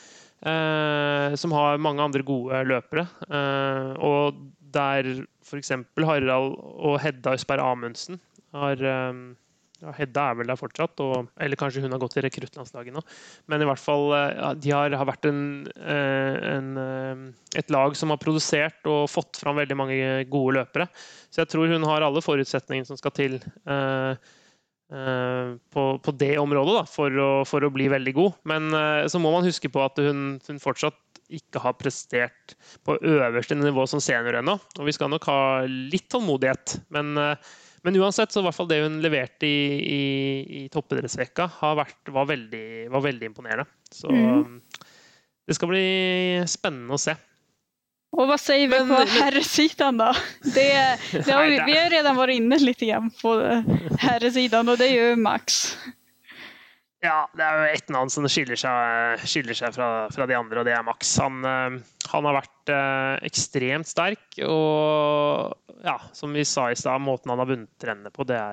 Eh, som har mange andre gode løpere. Eh, og der for eksempel Harald og Hedda Østberg Amundsen har eh, ja, Hedda er vel der fortsatt, og, eller kanskje hun har gått til rekruttlandslaget nå. Men i hvert fall, eh, ja, de har, har vært en, eh, en, eh, et lag som har produsert og fått fram veldig mange gode løpere. Så jeg tror hun har alle forutsetningene som skal til eh, eh, på, på det området da, for, å, for å bli veldig god. Men eh, så må man huske på at hun, hun fortsatt ikke har prestert på øverste nivå som senior ennå. Og vi skal nok ha litt tålmodighet. Men, eh, men uansett, så i hvert fall det hun leverte i, i, i toppidrettsveka har vært, var, veldig, var veldig imponerende. Så Mm. det ska bli spennende å se. Och vad säger vi Men- på men- herrsidan då? Det, det har vi, Nej, det- vi har redan varit inne lite grann på herrsidan och det är ju Max. Ja, det er jo ett navn som skiller seg, skiller seg fra, fra de andre, og det er Max. Han, eh, han har vært eh, ekstremt sterk, og ja, som vi sa i stad, måten han har vunnet trendene på, det er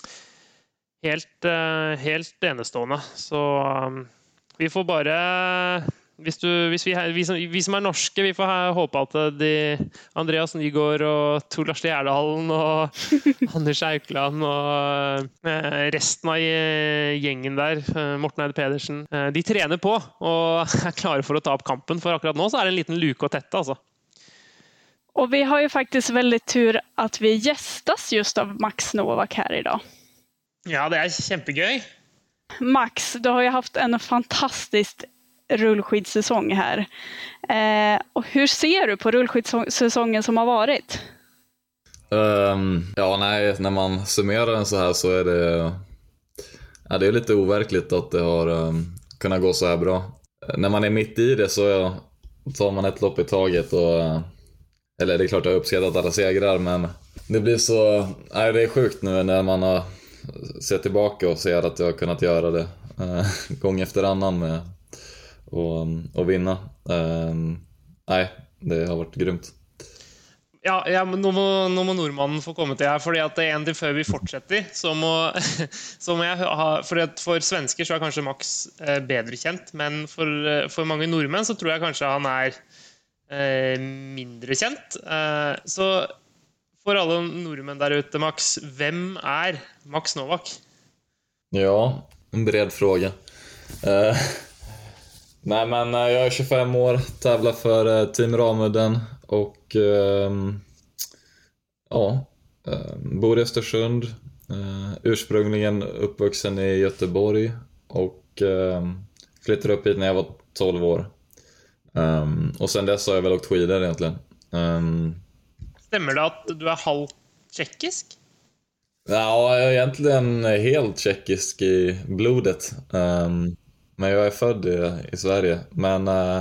helt, eh, helt enestående. Så um, vi får bare hvis, du, hvis vi, vi, som, vi som er norske, vi får ha- håpe at de, Andreas Nygaard og Tor Lars Gjerdalen og Anders Aukland og eh, resten av eh, gjengen der, eh, Morten Eide Pedersen, eh, de trener på og er klare for å ta opp kampen, for akkurat nå så er det en liten luke å tette, altså. Och vi har ju faktiskt väldigt tur att vi gästas just av Max Novak här idag. Ja, det er kjempegøy. Max, du har ju haft en fantastisk rullskidsäsong här. Eh, och hur ser du på rullskidsäsongen som har varit? Um, ja, nej, när man summerar den så här så är det ja, det är lite overkligt att det har um, kunnat gå så här bra. Uh, när man är mitt i det så ja, tar man ett lopp i taget och uh, eller det är klart jag har uppskattat alla segrar, men det blir så nej, det är sjukt nu när man har sett tillbaka och ser att jag har kunnat göra det uh, gång efter annan med och, och vinna. Um, nej, det har varit grymt. Ja, ja, men nå må, nå må nordmannen få komme til her, fordi at det er en til før vi fortsetter, så må, så må jeg ha, fordi at for svensker så er kanskje Max eh, bedre kjent, men for, eh, for mange nordmenn så tror jeg kanskje han er eh, mindre kjent. Eh, så for alle nordmenn der ute, Max, hvem er Max Novak? Ja, en bred fråga. Uh, nej men uh, jag är tjugofem år, tävlar för uh, Team Ramudden och uh, ja, uh, bor i Östersund, uh, ursprungligen uppvuxen i Göteborg och uh, flyttade upp hit när jag var tolv år. Um, och sen dess har jag väl åkt skidor egentligen. Um, Stemmer det at du er halvt tjekkisk? Ja, jag är egentligen helt tjeckisk i blodet. Um, men jag är född i, i Sverige. Men uh,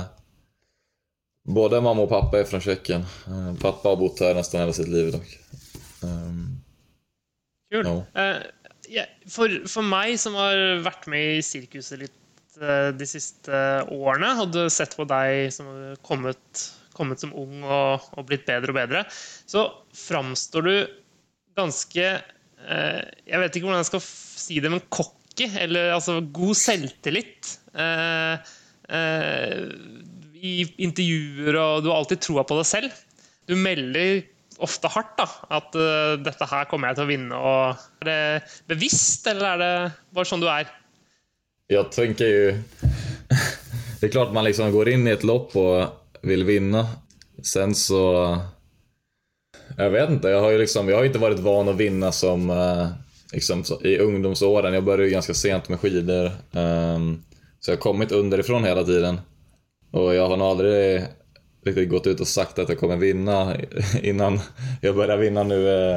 både mamma och pappa är från Tjeckien. Uh, pappa har bott här nästan hela sitt liv dock. Um, Kul. Ja. Eh, ja, for, for meg som har vært med i sirkuset litt uh, de siste årene, og du har sett på deg som har kommet, kommet som ung og, og blitt bedre og bedre, så framstår du ganske, uh, jeg vet ikke hvordan jeg skal si det, men cocky, eller altså god selvtillit. Uh, uh, I intervjuer, og du har alltid troa på deg selv. Du melder ofte hardt da, at uh, dette her kommer jeg til å vinne. Og er det bevisst, eller är det bara sån du är? Jag tänker ju... det är klart man liksom går in i ett lopp och vill vinna. Sen så... jag vet inte, jag har ju liksom... jag har inte varit van att vinna som... Uh, liksom, i ungdomsåren. Jag började ju ganska sent med skidor. Um, så jag har kommit underifrån hela tiden. Och jag har nog aldrig riktigt gått ut och sagt att jag kommer vinna innan jag börjar vinna nu eh,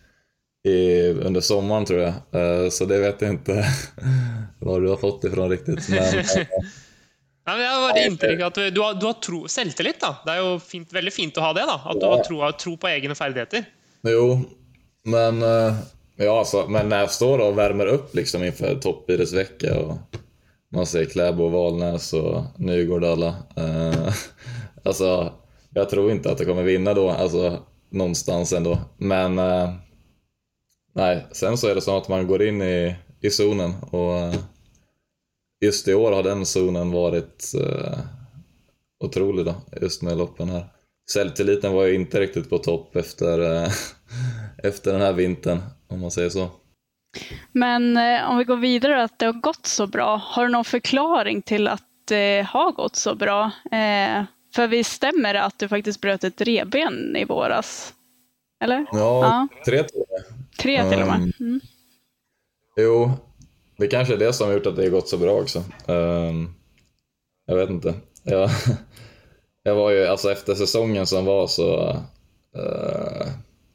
i, under sommaren tror jag. Eh, så det vet jag inte vad du har fått ifrån riktigt. Men, eh, ja, men jag har det intryck att du, du har, du har tro, selvtillit då. Det är ju fint, väldigt fint att ha det då. Att du har tro, tro på egna färdigheter. Jo, men eh, ja, alltså, men när jag står och värmer upp liksom inför toppidrottsvecka och man ser Kläbo, Valnäs och Nygård alla. Eh, alltså, jag tror inte att jag kommer vinna då, alltså någonstans ändå. Men eh, nej, sen så är det så att man går in i, i zonen och eh, just i år har den zonen varit eh, otrolig då, just med loppen här. Självtilliten var ju inte riktigt på topp efter, eh, efter den här vintern, om man säger så. Men eh, om vi går vidare att det har gått så bra. Har du någon förklaring till att det har gått så bra? Eh, för vi stämmer att du faktiskt bröt ett revben i våras. Eller? Ja, ja. tre till och med. Tre till och med. Mm. Jo, det kanske är det som har gjort att det har gått så bra också. Um, jag vet inte. Jag, jag var ju, alltså efter säsongen som var så uh,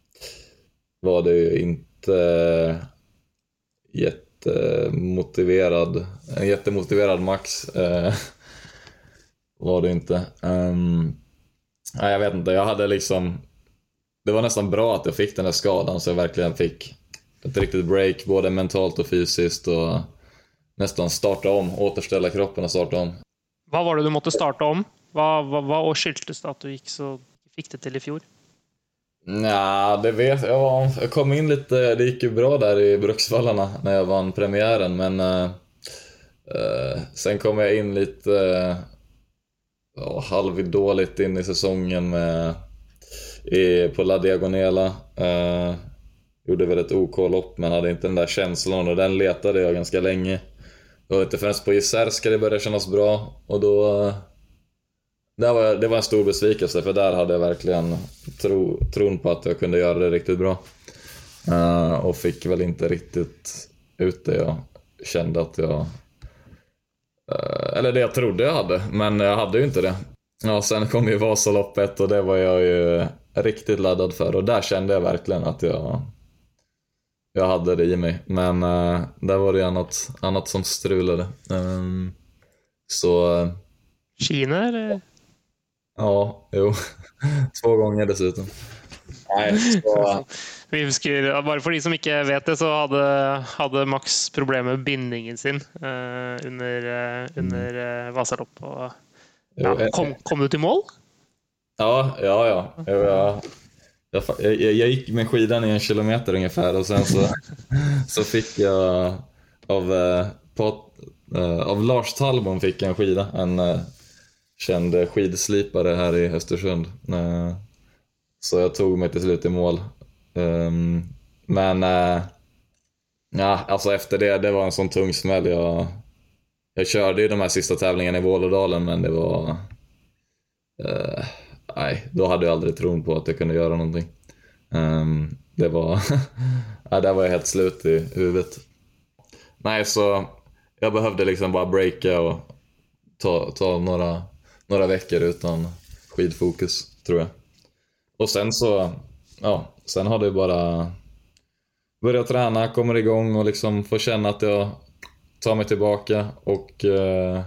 var det ju inte jättemotiverad, en jättemotiverad Max uh, var det inte. Um, nej, jag vet inte, jag hade liksom, det var nästan bra att jag fick den här skadan så jag verkligen fick ett riktigt break både mentalt och fysiskt och nästan starta om, återställa kroppen och starta om. Vad var det du måste starta om? Vad, vad, vad skyldtes det att du gick så fick det till i fjol? Nej, det vet jag. Jag kom in lite, det gick ju bra där i Bruksvallarna när jag vann premiären, men uh, uh, sen kom jag in lite uh, halvdåligt in i säsongen med, i, på La Diagonela. Uh, gjorde väl ett OK-lopp men hade inte den där känslan och den letade jag ganska länge. Och inte förrän på Jizerska det började kännas bra och då uh, det var, det var en stor besvikelse för där hade jag verkligen tro, tron på att jag kunde göra det riktigt bra. Uh, och fick väl inte riktigt ut det jag kände att jag... Uh, eller det jag trodde jag hade, men jag hade ju inte det. Ja, sen kom ju Vasaloppet och det var jag ju riktigt laddad för. Och där kände jag verkligen att jag, jag hade det i mig. Men uh, där var det annat, annat som strulade. Um, så... Uh, Kina eller? Ja, jo. Två gånger dessutom. Nej, så... Vi husker, bare for de som ikke vet det, så hadde, hadde Max problemer med bindingen sin uh, under, uh, under uh, Vasalopp. Og, ja, kom, kom du till mål? Ja, ja, ja. Jag, jag, jag, jag gick med skidan i en kilometer ungefär och sen så, så fick jag av, uh, på, uh, av Lars Talbom fick jag en skida, en uh, känd skidslipare här i Östersund. Uh, så jag tog mig till slut i mål. Um, men uh, ja, alltså efter det, det var en sån tung smäll. Jag, jag körde ju de här sista tävlingarna i Vålådalen, men det var uh, nej, då hade jag aldrig tron på att jag kunde göra någonting. Um, det var ja, där var jag helt slut i huvudet. Nej, så jag behövde liksom bara breaka och ta, ta några, några veckor utan skidfokus, tror jag. Och sen så, ja, sen har det bara börjat träna, kommer igång och liksom får känna att jag tar mig tillbaka och eh,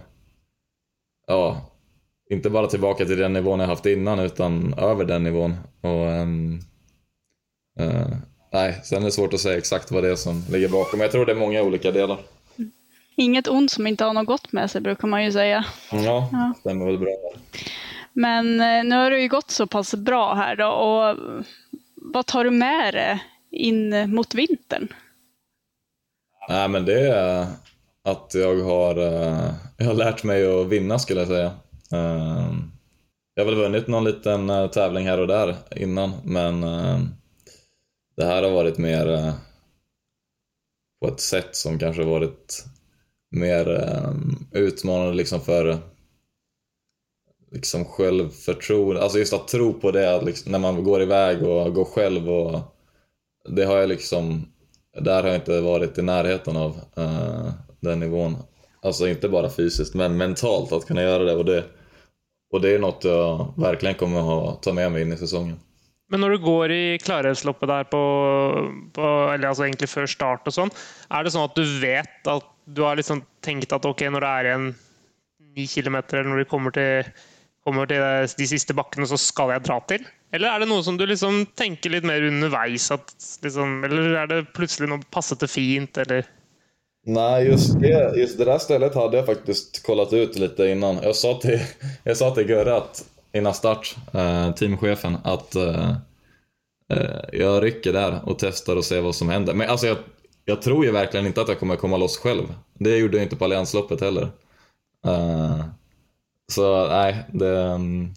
ja, inte bara tillbaka till den nivån jag haft innan utan över den nivån. Och eh, eh, nej, sen är det svårt att säga exakt vad det är som ligger bakom. Men jag tror det är många olika delar. Inget ont som inte har något gott med sig, brukar man ju säga. Ja, ja. Det stämmer väl bra. Men nu har det ju gått så pass bra här då. Och vad tar du med dig in mot vintern? Nej, men det är att jag har, jag har lärt mig att vinna, skulle jag säga. Jag har väl vunnit någon liten tävling här och där innan, men det här har varit mer på ett sätt som kanske varit mer utmanande liksom för liksom självförtroende. Alltså just att tro på det liksom, när man går iväg och går själv, och det har jag liksom, där har jag inte varit i närheten av uh, den nivån. Alltså inte bara fysiskt, men mentalt att kunna göra det, och det och det är något jag verkligen kommer att ha, ta med mig in i säsongen. Men när du går i Klarälvsloppet där på, på eller alltså egentligen för start och sånt, är det så att du vet att du har liksom tänkt att okej, okay, när det är en nio kilometer eller när du kommer till kommer till de sista backarna så ska jag dra till? Eller är det något som du liksom tänker lite mer underveis att liksom, eller är det plötsligt något passat fint eller? Nej, just det, just det där stället hade jag faktiskt kollat ut lite innan. Jag sa till, jag sa till Görre att innan start, eh, teamchefen, att eh, eh, jag rycker där och testar och ser vad som händer. Men alltså jag, jag tror ju verkligen inte att jag kommer komma loss själv. Det gjorde jag inte på Alliansloppet heller. Eh, så nej, det,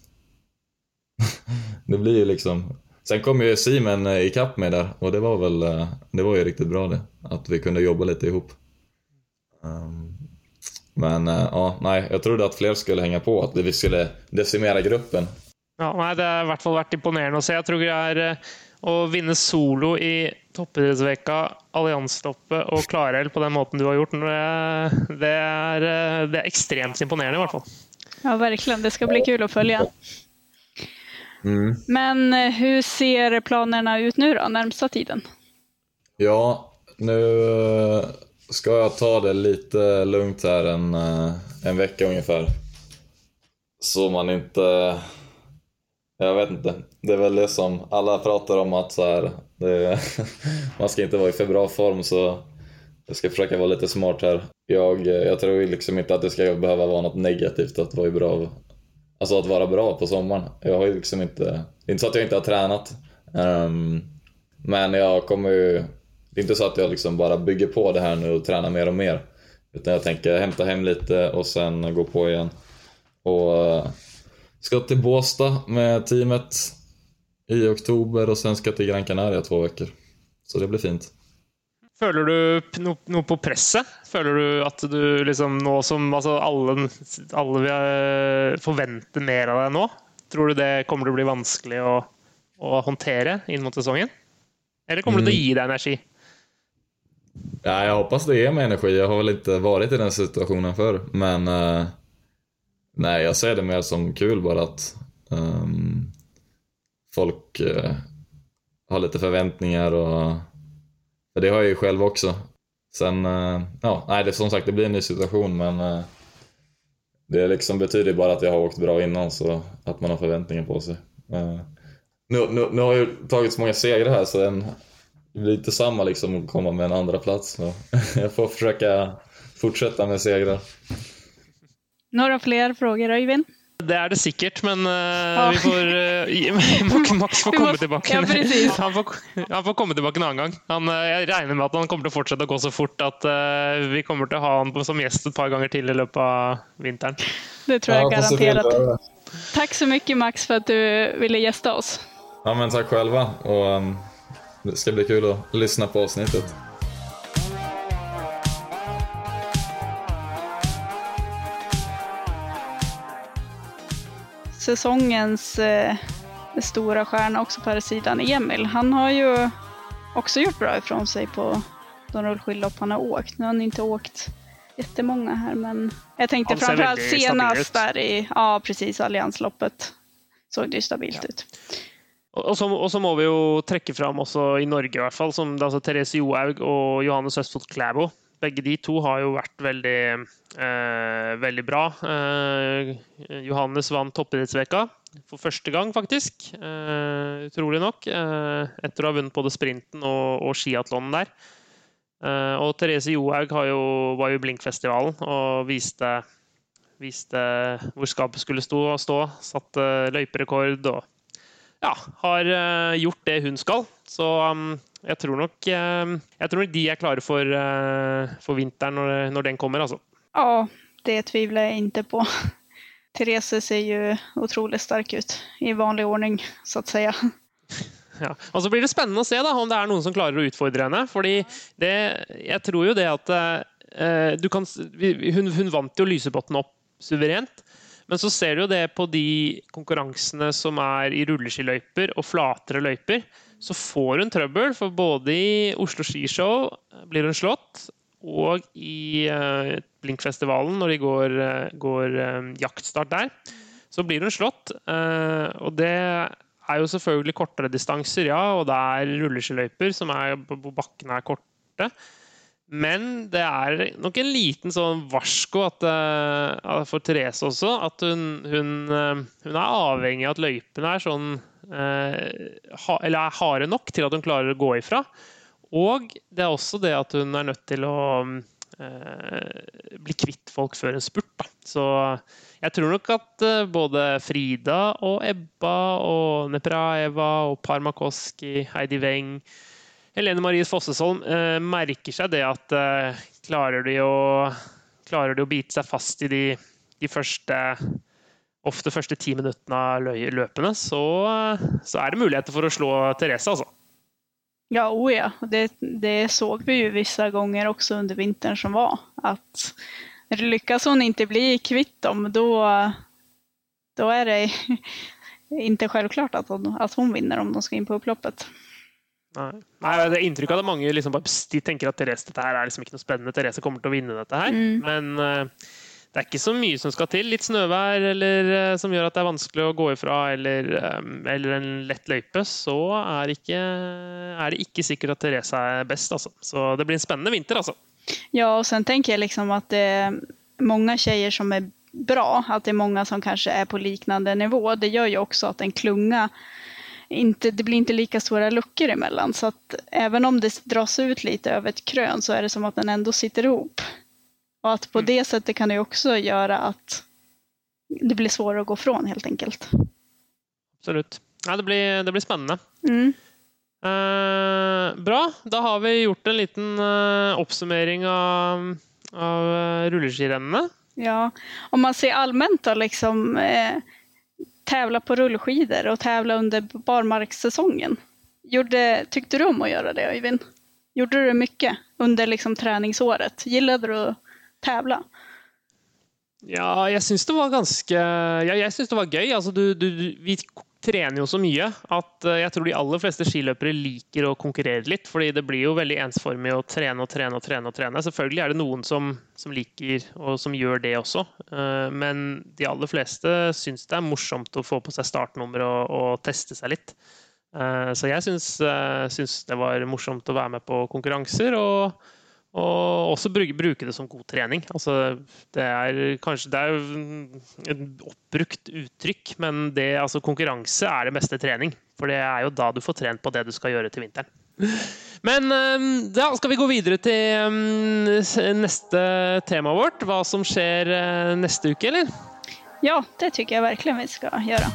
det blir ju liksom... Sen kom ju Simon i kapp med där, och det var väl det var ju riktigt bra det, att vi kunde jobba lite ihop. Um, men uh, ja, nej, jag trodde att fler skulle hänga på, att vi skulle decimera gruppen. Ja, nej, det har i hvert fall varit imponerande att se. Jag tror det är att vinna solo i toppidrettsvecka, Alliansloppet och Klarälv på den måten du har gjort. Det, det, är, det är extremt imponerande i alla fall. Ja, verkligen. Det ska bli kul att följa. Mm. Men hur ser planerna ut nu då, närmsta tiden? Ja, nu ska jag ta det lite lugnt här en, en vecka ungefär. Så man inte... Jag vet inte. Det är väl det som alla pratar om, att så här, det, man ska inte vara i för bra form, så jag ska försöka vara lite smart här. Jag, jag tror liksom inte att det ska behöva vara något negativt att vara bra. Alltså att vara bra på sommaren. Jag har ju liksom inte... Det är inte så att jag inte har tränat. Um, men jag kommer ju... Det är inte så att jag liksom bara bygger på det här nu och tränar mer och mer. Utan jag tänker hämta hem lite och sen gå på igen. Och uh, ska till Båstad med teamet i oktober, och sen ska till Gran Canaria två veckor. Så det blir fint. Føler du noe på presset? Føler du at du liksom nå som altså alle, alle vil forvente mer av deg nå? Tror du det kommer til å bli vanskelig å, å håndtere inn mot säsongen? Eller kommer det att ge dig energi? Ja, jag hoppas det ger mig energi. Jag har väl inte varit i den situationen förr. Men uh, nej, jag ser det mer som kul bara att um, folk uh, har lite förväntningar, och det har jag ju själv också. Sen, uh, ja, nej, det som sagt, det blir en ny situation, men uh, det liksom betyder bara att jag har åkt bra innan, så att man har förväntningar på sig. Uh, nu, nu, nu har jag tagit så många segrar här, så en det blir inte samma liksom att komma med en andra plats. Så jag får försöka fortsätta med segrar. Några fler frågor, Öyvind? Det är det säkert, men uh, ja. vi får uh, Max får komma tillbaka. Ja, precis. Han får, han får komma tillbaka en annan gång. Han, uh, jag räknar med att han kommer att fortsätta gå så fort att uh, vi kommer att ha honom som gäst ett par gånger till i löpet av vintern. Det tror jag ja, garanterat. Tack så mycket, Max, för att du ville gästa oss. Ja, men tack själva, och um, det ska bli kul att lyssna på avsnittet. Säsongens eh, stora stjärna också på här sidan, Emil. Han har ju också gjort bra ifrån sig på de rullskidlopp han har åkt. Nu har han inte åkt jättemånga här, men jag tänkte framförallt senast där i, ja precis, Alliansloppet såg det ju stabilt ja. ut. Og så, og så må vi jo trekke fram også i Norge i hvert fall, som altså Therese Johaug og Johannes Østfold Klæbo. begge de to har jo vært veldig, eh, veldig bra. Eh, Johannes vant toppidrettsveka for første gang, faktisk. Eh, utrolig nok. Eh, etter å ha vunnet både sprinten og, og skiathlonen der. Eh, og Therese Johaug har jo, var jo i Blinkfestivalen og viste, viste hvor skapet skulle stå, stå. Satte løyperekord og ja, har uh, gjort det hun skal. Så um, jeg tror nok uh, jeg tror nok de er klare for, uh, for vinteren når, når den kommer. Altså. Ja, det tvivlar jag inte på. Therese ser ju otroligt stark ut i vanlig ordning, så att säga. Ja. Og så blir det spennende å se da, om det er noen som klarer å utfordre henne. Fordi det, jeg tror jo det at uh, du kan, hun, hun vant jo Lysebotn opp suverent. Men så ser du jo det på de konkurransene som er i rulleskiløyper og flatere løyper, så får hun trøbbel, for både i Oslo Skishow blir hun slått, og i uh, Blinkfestivalen, når de går, uh, går uh, jaktstart der, så blir hun slått. Uh, og det er jo selvfølgelig kortere distanser, ja, og det er rulleskiløyper som er på bakken er korte. Men det er nok en liten sånn varsko at, uh, for Therese også, at hun, hun, uh, hun er avhengig av at løypene er sånn, uh, ha, eller er harde nok til at hun klarer å gå ifra. Og det er også det at hun er nødt til å uh, bli kvitt folk før en spurt. Da. Så jeg tror nok at uh, både Frida og Ebba og Nepraeva og Parmakoski, Heidi Weng, Helene Marie Fossesholm eh, merker seg det at eh, klarer, de å, klarer de å bite seg fast i de, de første, ofte første ti minuttene av løpene, så, så er det muligheter for å slå Therese, altså. Ja, oh ja. Det, det såg vi ju vissa gånger också under vintern som var. Att lyckas hon inte bli kvitt dem, då, då är det inte självklart att hon, att hon vinner om de ska in på upploppet. Nei. Nei, det er inntrykk av at mange liksom bare, de tenker at Therese, dette her er liksom ikke noe spennende, Therese kommer til å vinne dette her, mm. men uh, det er ikke så mye som skal til, litt snøvær eller, uh, som gjør at det er vanskelig å gå ifra, eller, um, eller en lett løype, så er, ikke, er det ikke sikkert at Therese er best, altså. Så det blir en spennende vinter, alltså. Ja, och sen tänker jag liksom att det är många tjejer som är bra, att det är många som kanske är på liknande nivå, det gör ju också att en klunga Inte, det blir inte lika stora luckor emellan, så att även om det dras ut lite över ett krön så är det som att den ändå sitter ihop. Och att på mm. det sättet kan det också göra att det blir svårare att gå från helt enkelt. Absolut. Ja, det blir, det blir spännande. Mm. Uh, bra, då har vi gjort en liten uh, uppsummering av, av uh, rulleskirennene. Ja, om man ser allmänt då liksom... Eh, tävla på rullskidor och tävla under barmarkssäsongen. Gjorde, tyckte du om att göra det, Øyvind? Gjorde du mycket under liksom träningsåret? Gillade du att tävla? Ja, jag syns det var ganska ja, jag syns det var gøy. Alltså du, du, vi tränar ju så mycket att uh, jag tror de allra flesta skiløpere liker att konkurrera lite, för det blir ju väldigt ensformigt att träna och träna och träna och träna. Selvfølgelig är det någon som som liker och som gör det också. Uh, men de allra flesta syns det är morsomt att få på sig startnummer och och testa sig lite. Uh, så jag syns uh, syns det var morsomt att vara med på konkurrenser och Og også bruke, bruke det som god trening. Altså, det er kanskje det er et oppbrukt uttrykk, men det, altså, konkurranse er det beste trening. For det er jo da du får trent på det du skal gjøre til vinteren. Men da skal vi gå videre til neste tema vårt. Hva som skjer neste uke, eller? Ja, det tycker jag verkligen vi ska göra.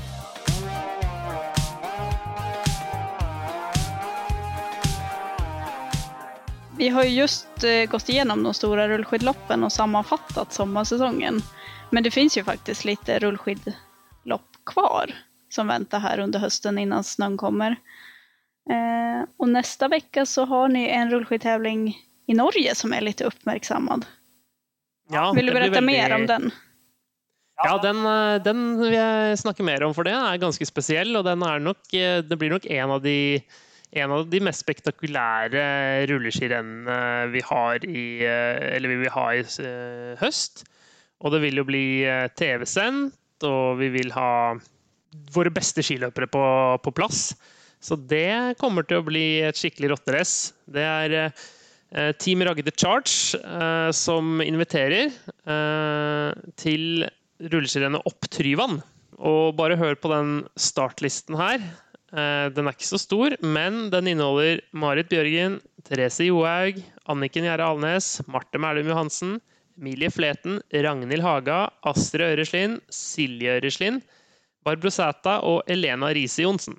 Vi har ju just eh, gått igenom de stora rullskidloppen och sammanfattat sommarsäsongen. Men det finns ju faktiskt lite rullskidlopp kvar som väntar här under hösten innan snön kommer. Eh, och nästa vecka så har ni en rullskidtävling i Norge som är lite uppmärksammad. Ja, vill du berätta väldigt... mer om den? Ja, den, den vill jag snacka mer om, för det är ganska speciell, och den är nog, det blir nog en av de En av de mest spektakulära rulleskirennene vi har i eller vi vill ha i höst. Och det vill ju bli T V-sänt, och vi vill ha våra bästa skiløpere på på plats. Så det kommer till att bli ett skickligt rotterace. Det är eh, Team Ragde Charge eh, som inviterer eh, til rulleskiløpet opp Tryvann. Og bare hør på den startlisten her. Eh, den er ikke så stor, men den inneholder Marit Bjørgen, Therese Johaug, Anniken Gjerde Alnes, Marte Mælum Johansen, Emilie Fleten, Ragnhild Haga, Astrid Øreslind, Silje Øreslind, Barbro Sæta og Elena Riise Jonsen.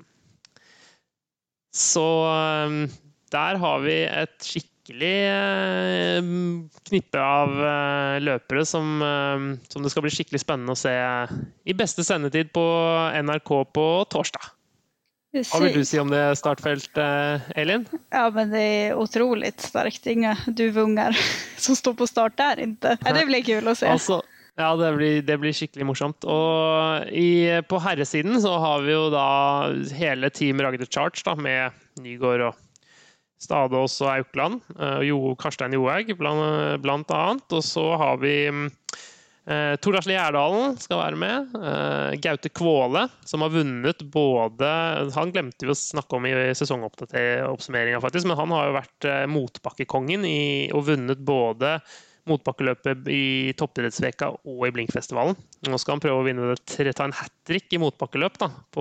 Så um, der har vi et skikkelig uh, knippe av uh, løpere som, uh, som det skal bli skikkelig spennende å se i beste sendetid på N R K på torsdag. Hva vill du si om det startfältet, Elin? Ja, men det är otroligt starkt. Inga duvungar som står på start där inte. Ja, det blir kul att se. Altså, ja, det blir, det blir skikkelig morsomt. Og i, på herresiden så har vi jo da hele Team Ragde Charge da, med Nygård og Stadås og Aukland, og jo, Karstein Johaug blant, blant annet. Og så har vi eh, Tor Asle Gjerdalen skal være med, eh, Gaute Kvåle, som har vunnet både, han glemte vi å snakke om i sesongoppsummeringen faktisk, men han har jo vært eh, motbakkekongen i, og vunnet både motbakkeløpet i toppidrettsveka og i Blinkfestivalen. Nå skal han prøve å vinne det, ta en hat-trick i motbakkeløp da, på,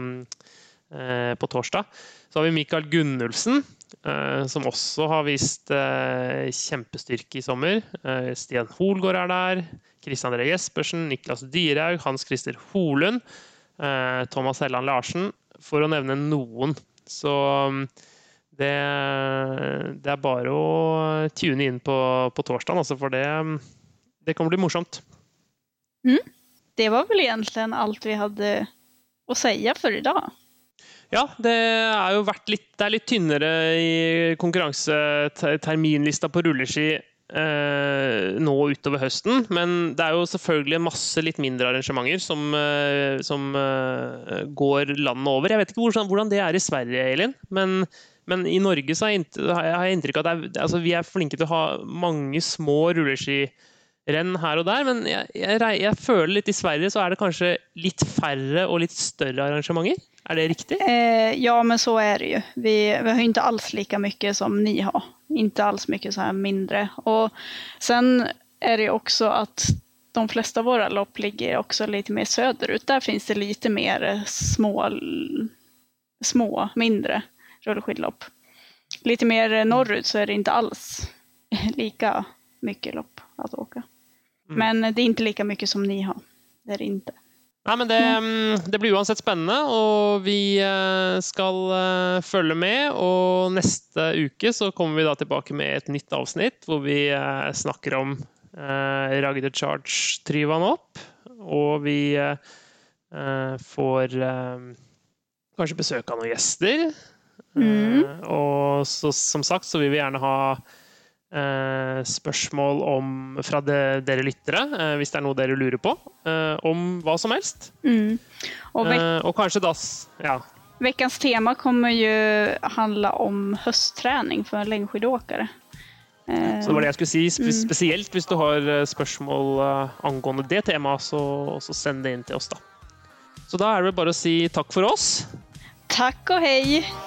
eh, på torsdag. Så har vi Mikael Gunnulfsen, eh, som også har vist eh, kjempestyrke i sommer. Eh, Stian Holgaard er der, Kristian André Jespersen, Niklas Dyrhaug, Hans Christer Holund, eh, Thomas Helland Larsen, for å nevne noen. Så Det, det er bare å tune inn på, på torsdagen, altså, for det, det kommer bli morsomt. Mm. Det var väl egentligen allt vi hade att säga för idag. Ja, det er jo vært litt, det er litt tynnere i konkurranseterminlista på rulleski eh, nå utover høsten, men det er jo selvfølgelig masse litt mindre arrangementer som, eh, som eh, går landet over. Jeg vet ikke hvordan, hvordan det er i Sverige, Elin, men Men i Norge så har jeg inntrykk av at det er, altså vi er flinke til å ha mange små rulleskirenn her og der, men jeg, jeg, jeg føler litt i Sverige så er det kanskje litt færre og litt større arrangementer. Er det riktig? Eh, ja, men så är det ju. Vi, vi har inte alls lika mycket som ni har. Inte alls mycket så här mindre. Och sen är det också att de flesta av våra lopp ligger också lite mer söderut. Där finns det lite mer små, små mindre rullskidlopp. Lite mer norrut så är det inte alls lika mycket lopp att åka. Mm. Men det är inte lika mycket som ni har. Det är det inte. Nei, men det, det blir uansett spennende, og vi skal følge med, og neste uke så kommer vi da tilbake med et nytt avsnitt, hvor vi snakker om eh, Ragde Charge Tryvann opp, og vi eh, får eh, kanskje besøk av noen gjester. Mm. Uh, og så, som sagt så vil vi gjerne ha uh, spørsmål om, fra de, dere lyttere, uh, hvis det er noe dere lurer på, uh, om hva som helst. Mm. Og, vek- uh, og kanskje da, ja. Veckans tema kommer ju handla om höstträning för längdskidåkare. Uh, så det var det jeg skulle si, spe- mm. spesielt hvis du har spørsmål uh, angående det temaet, så, så send det inn til oss da. Så da er det bare å si takk for oss. Tack och hej!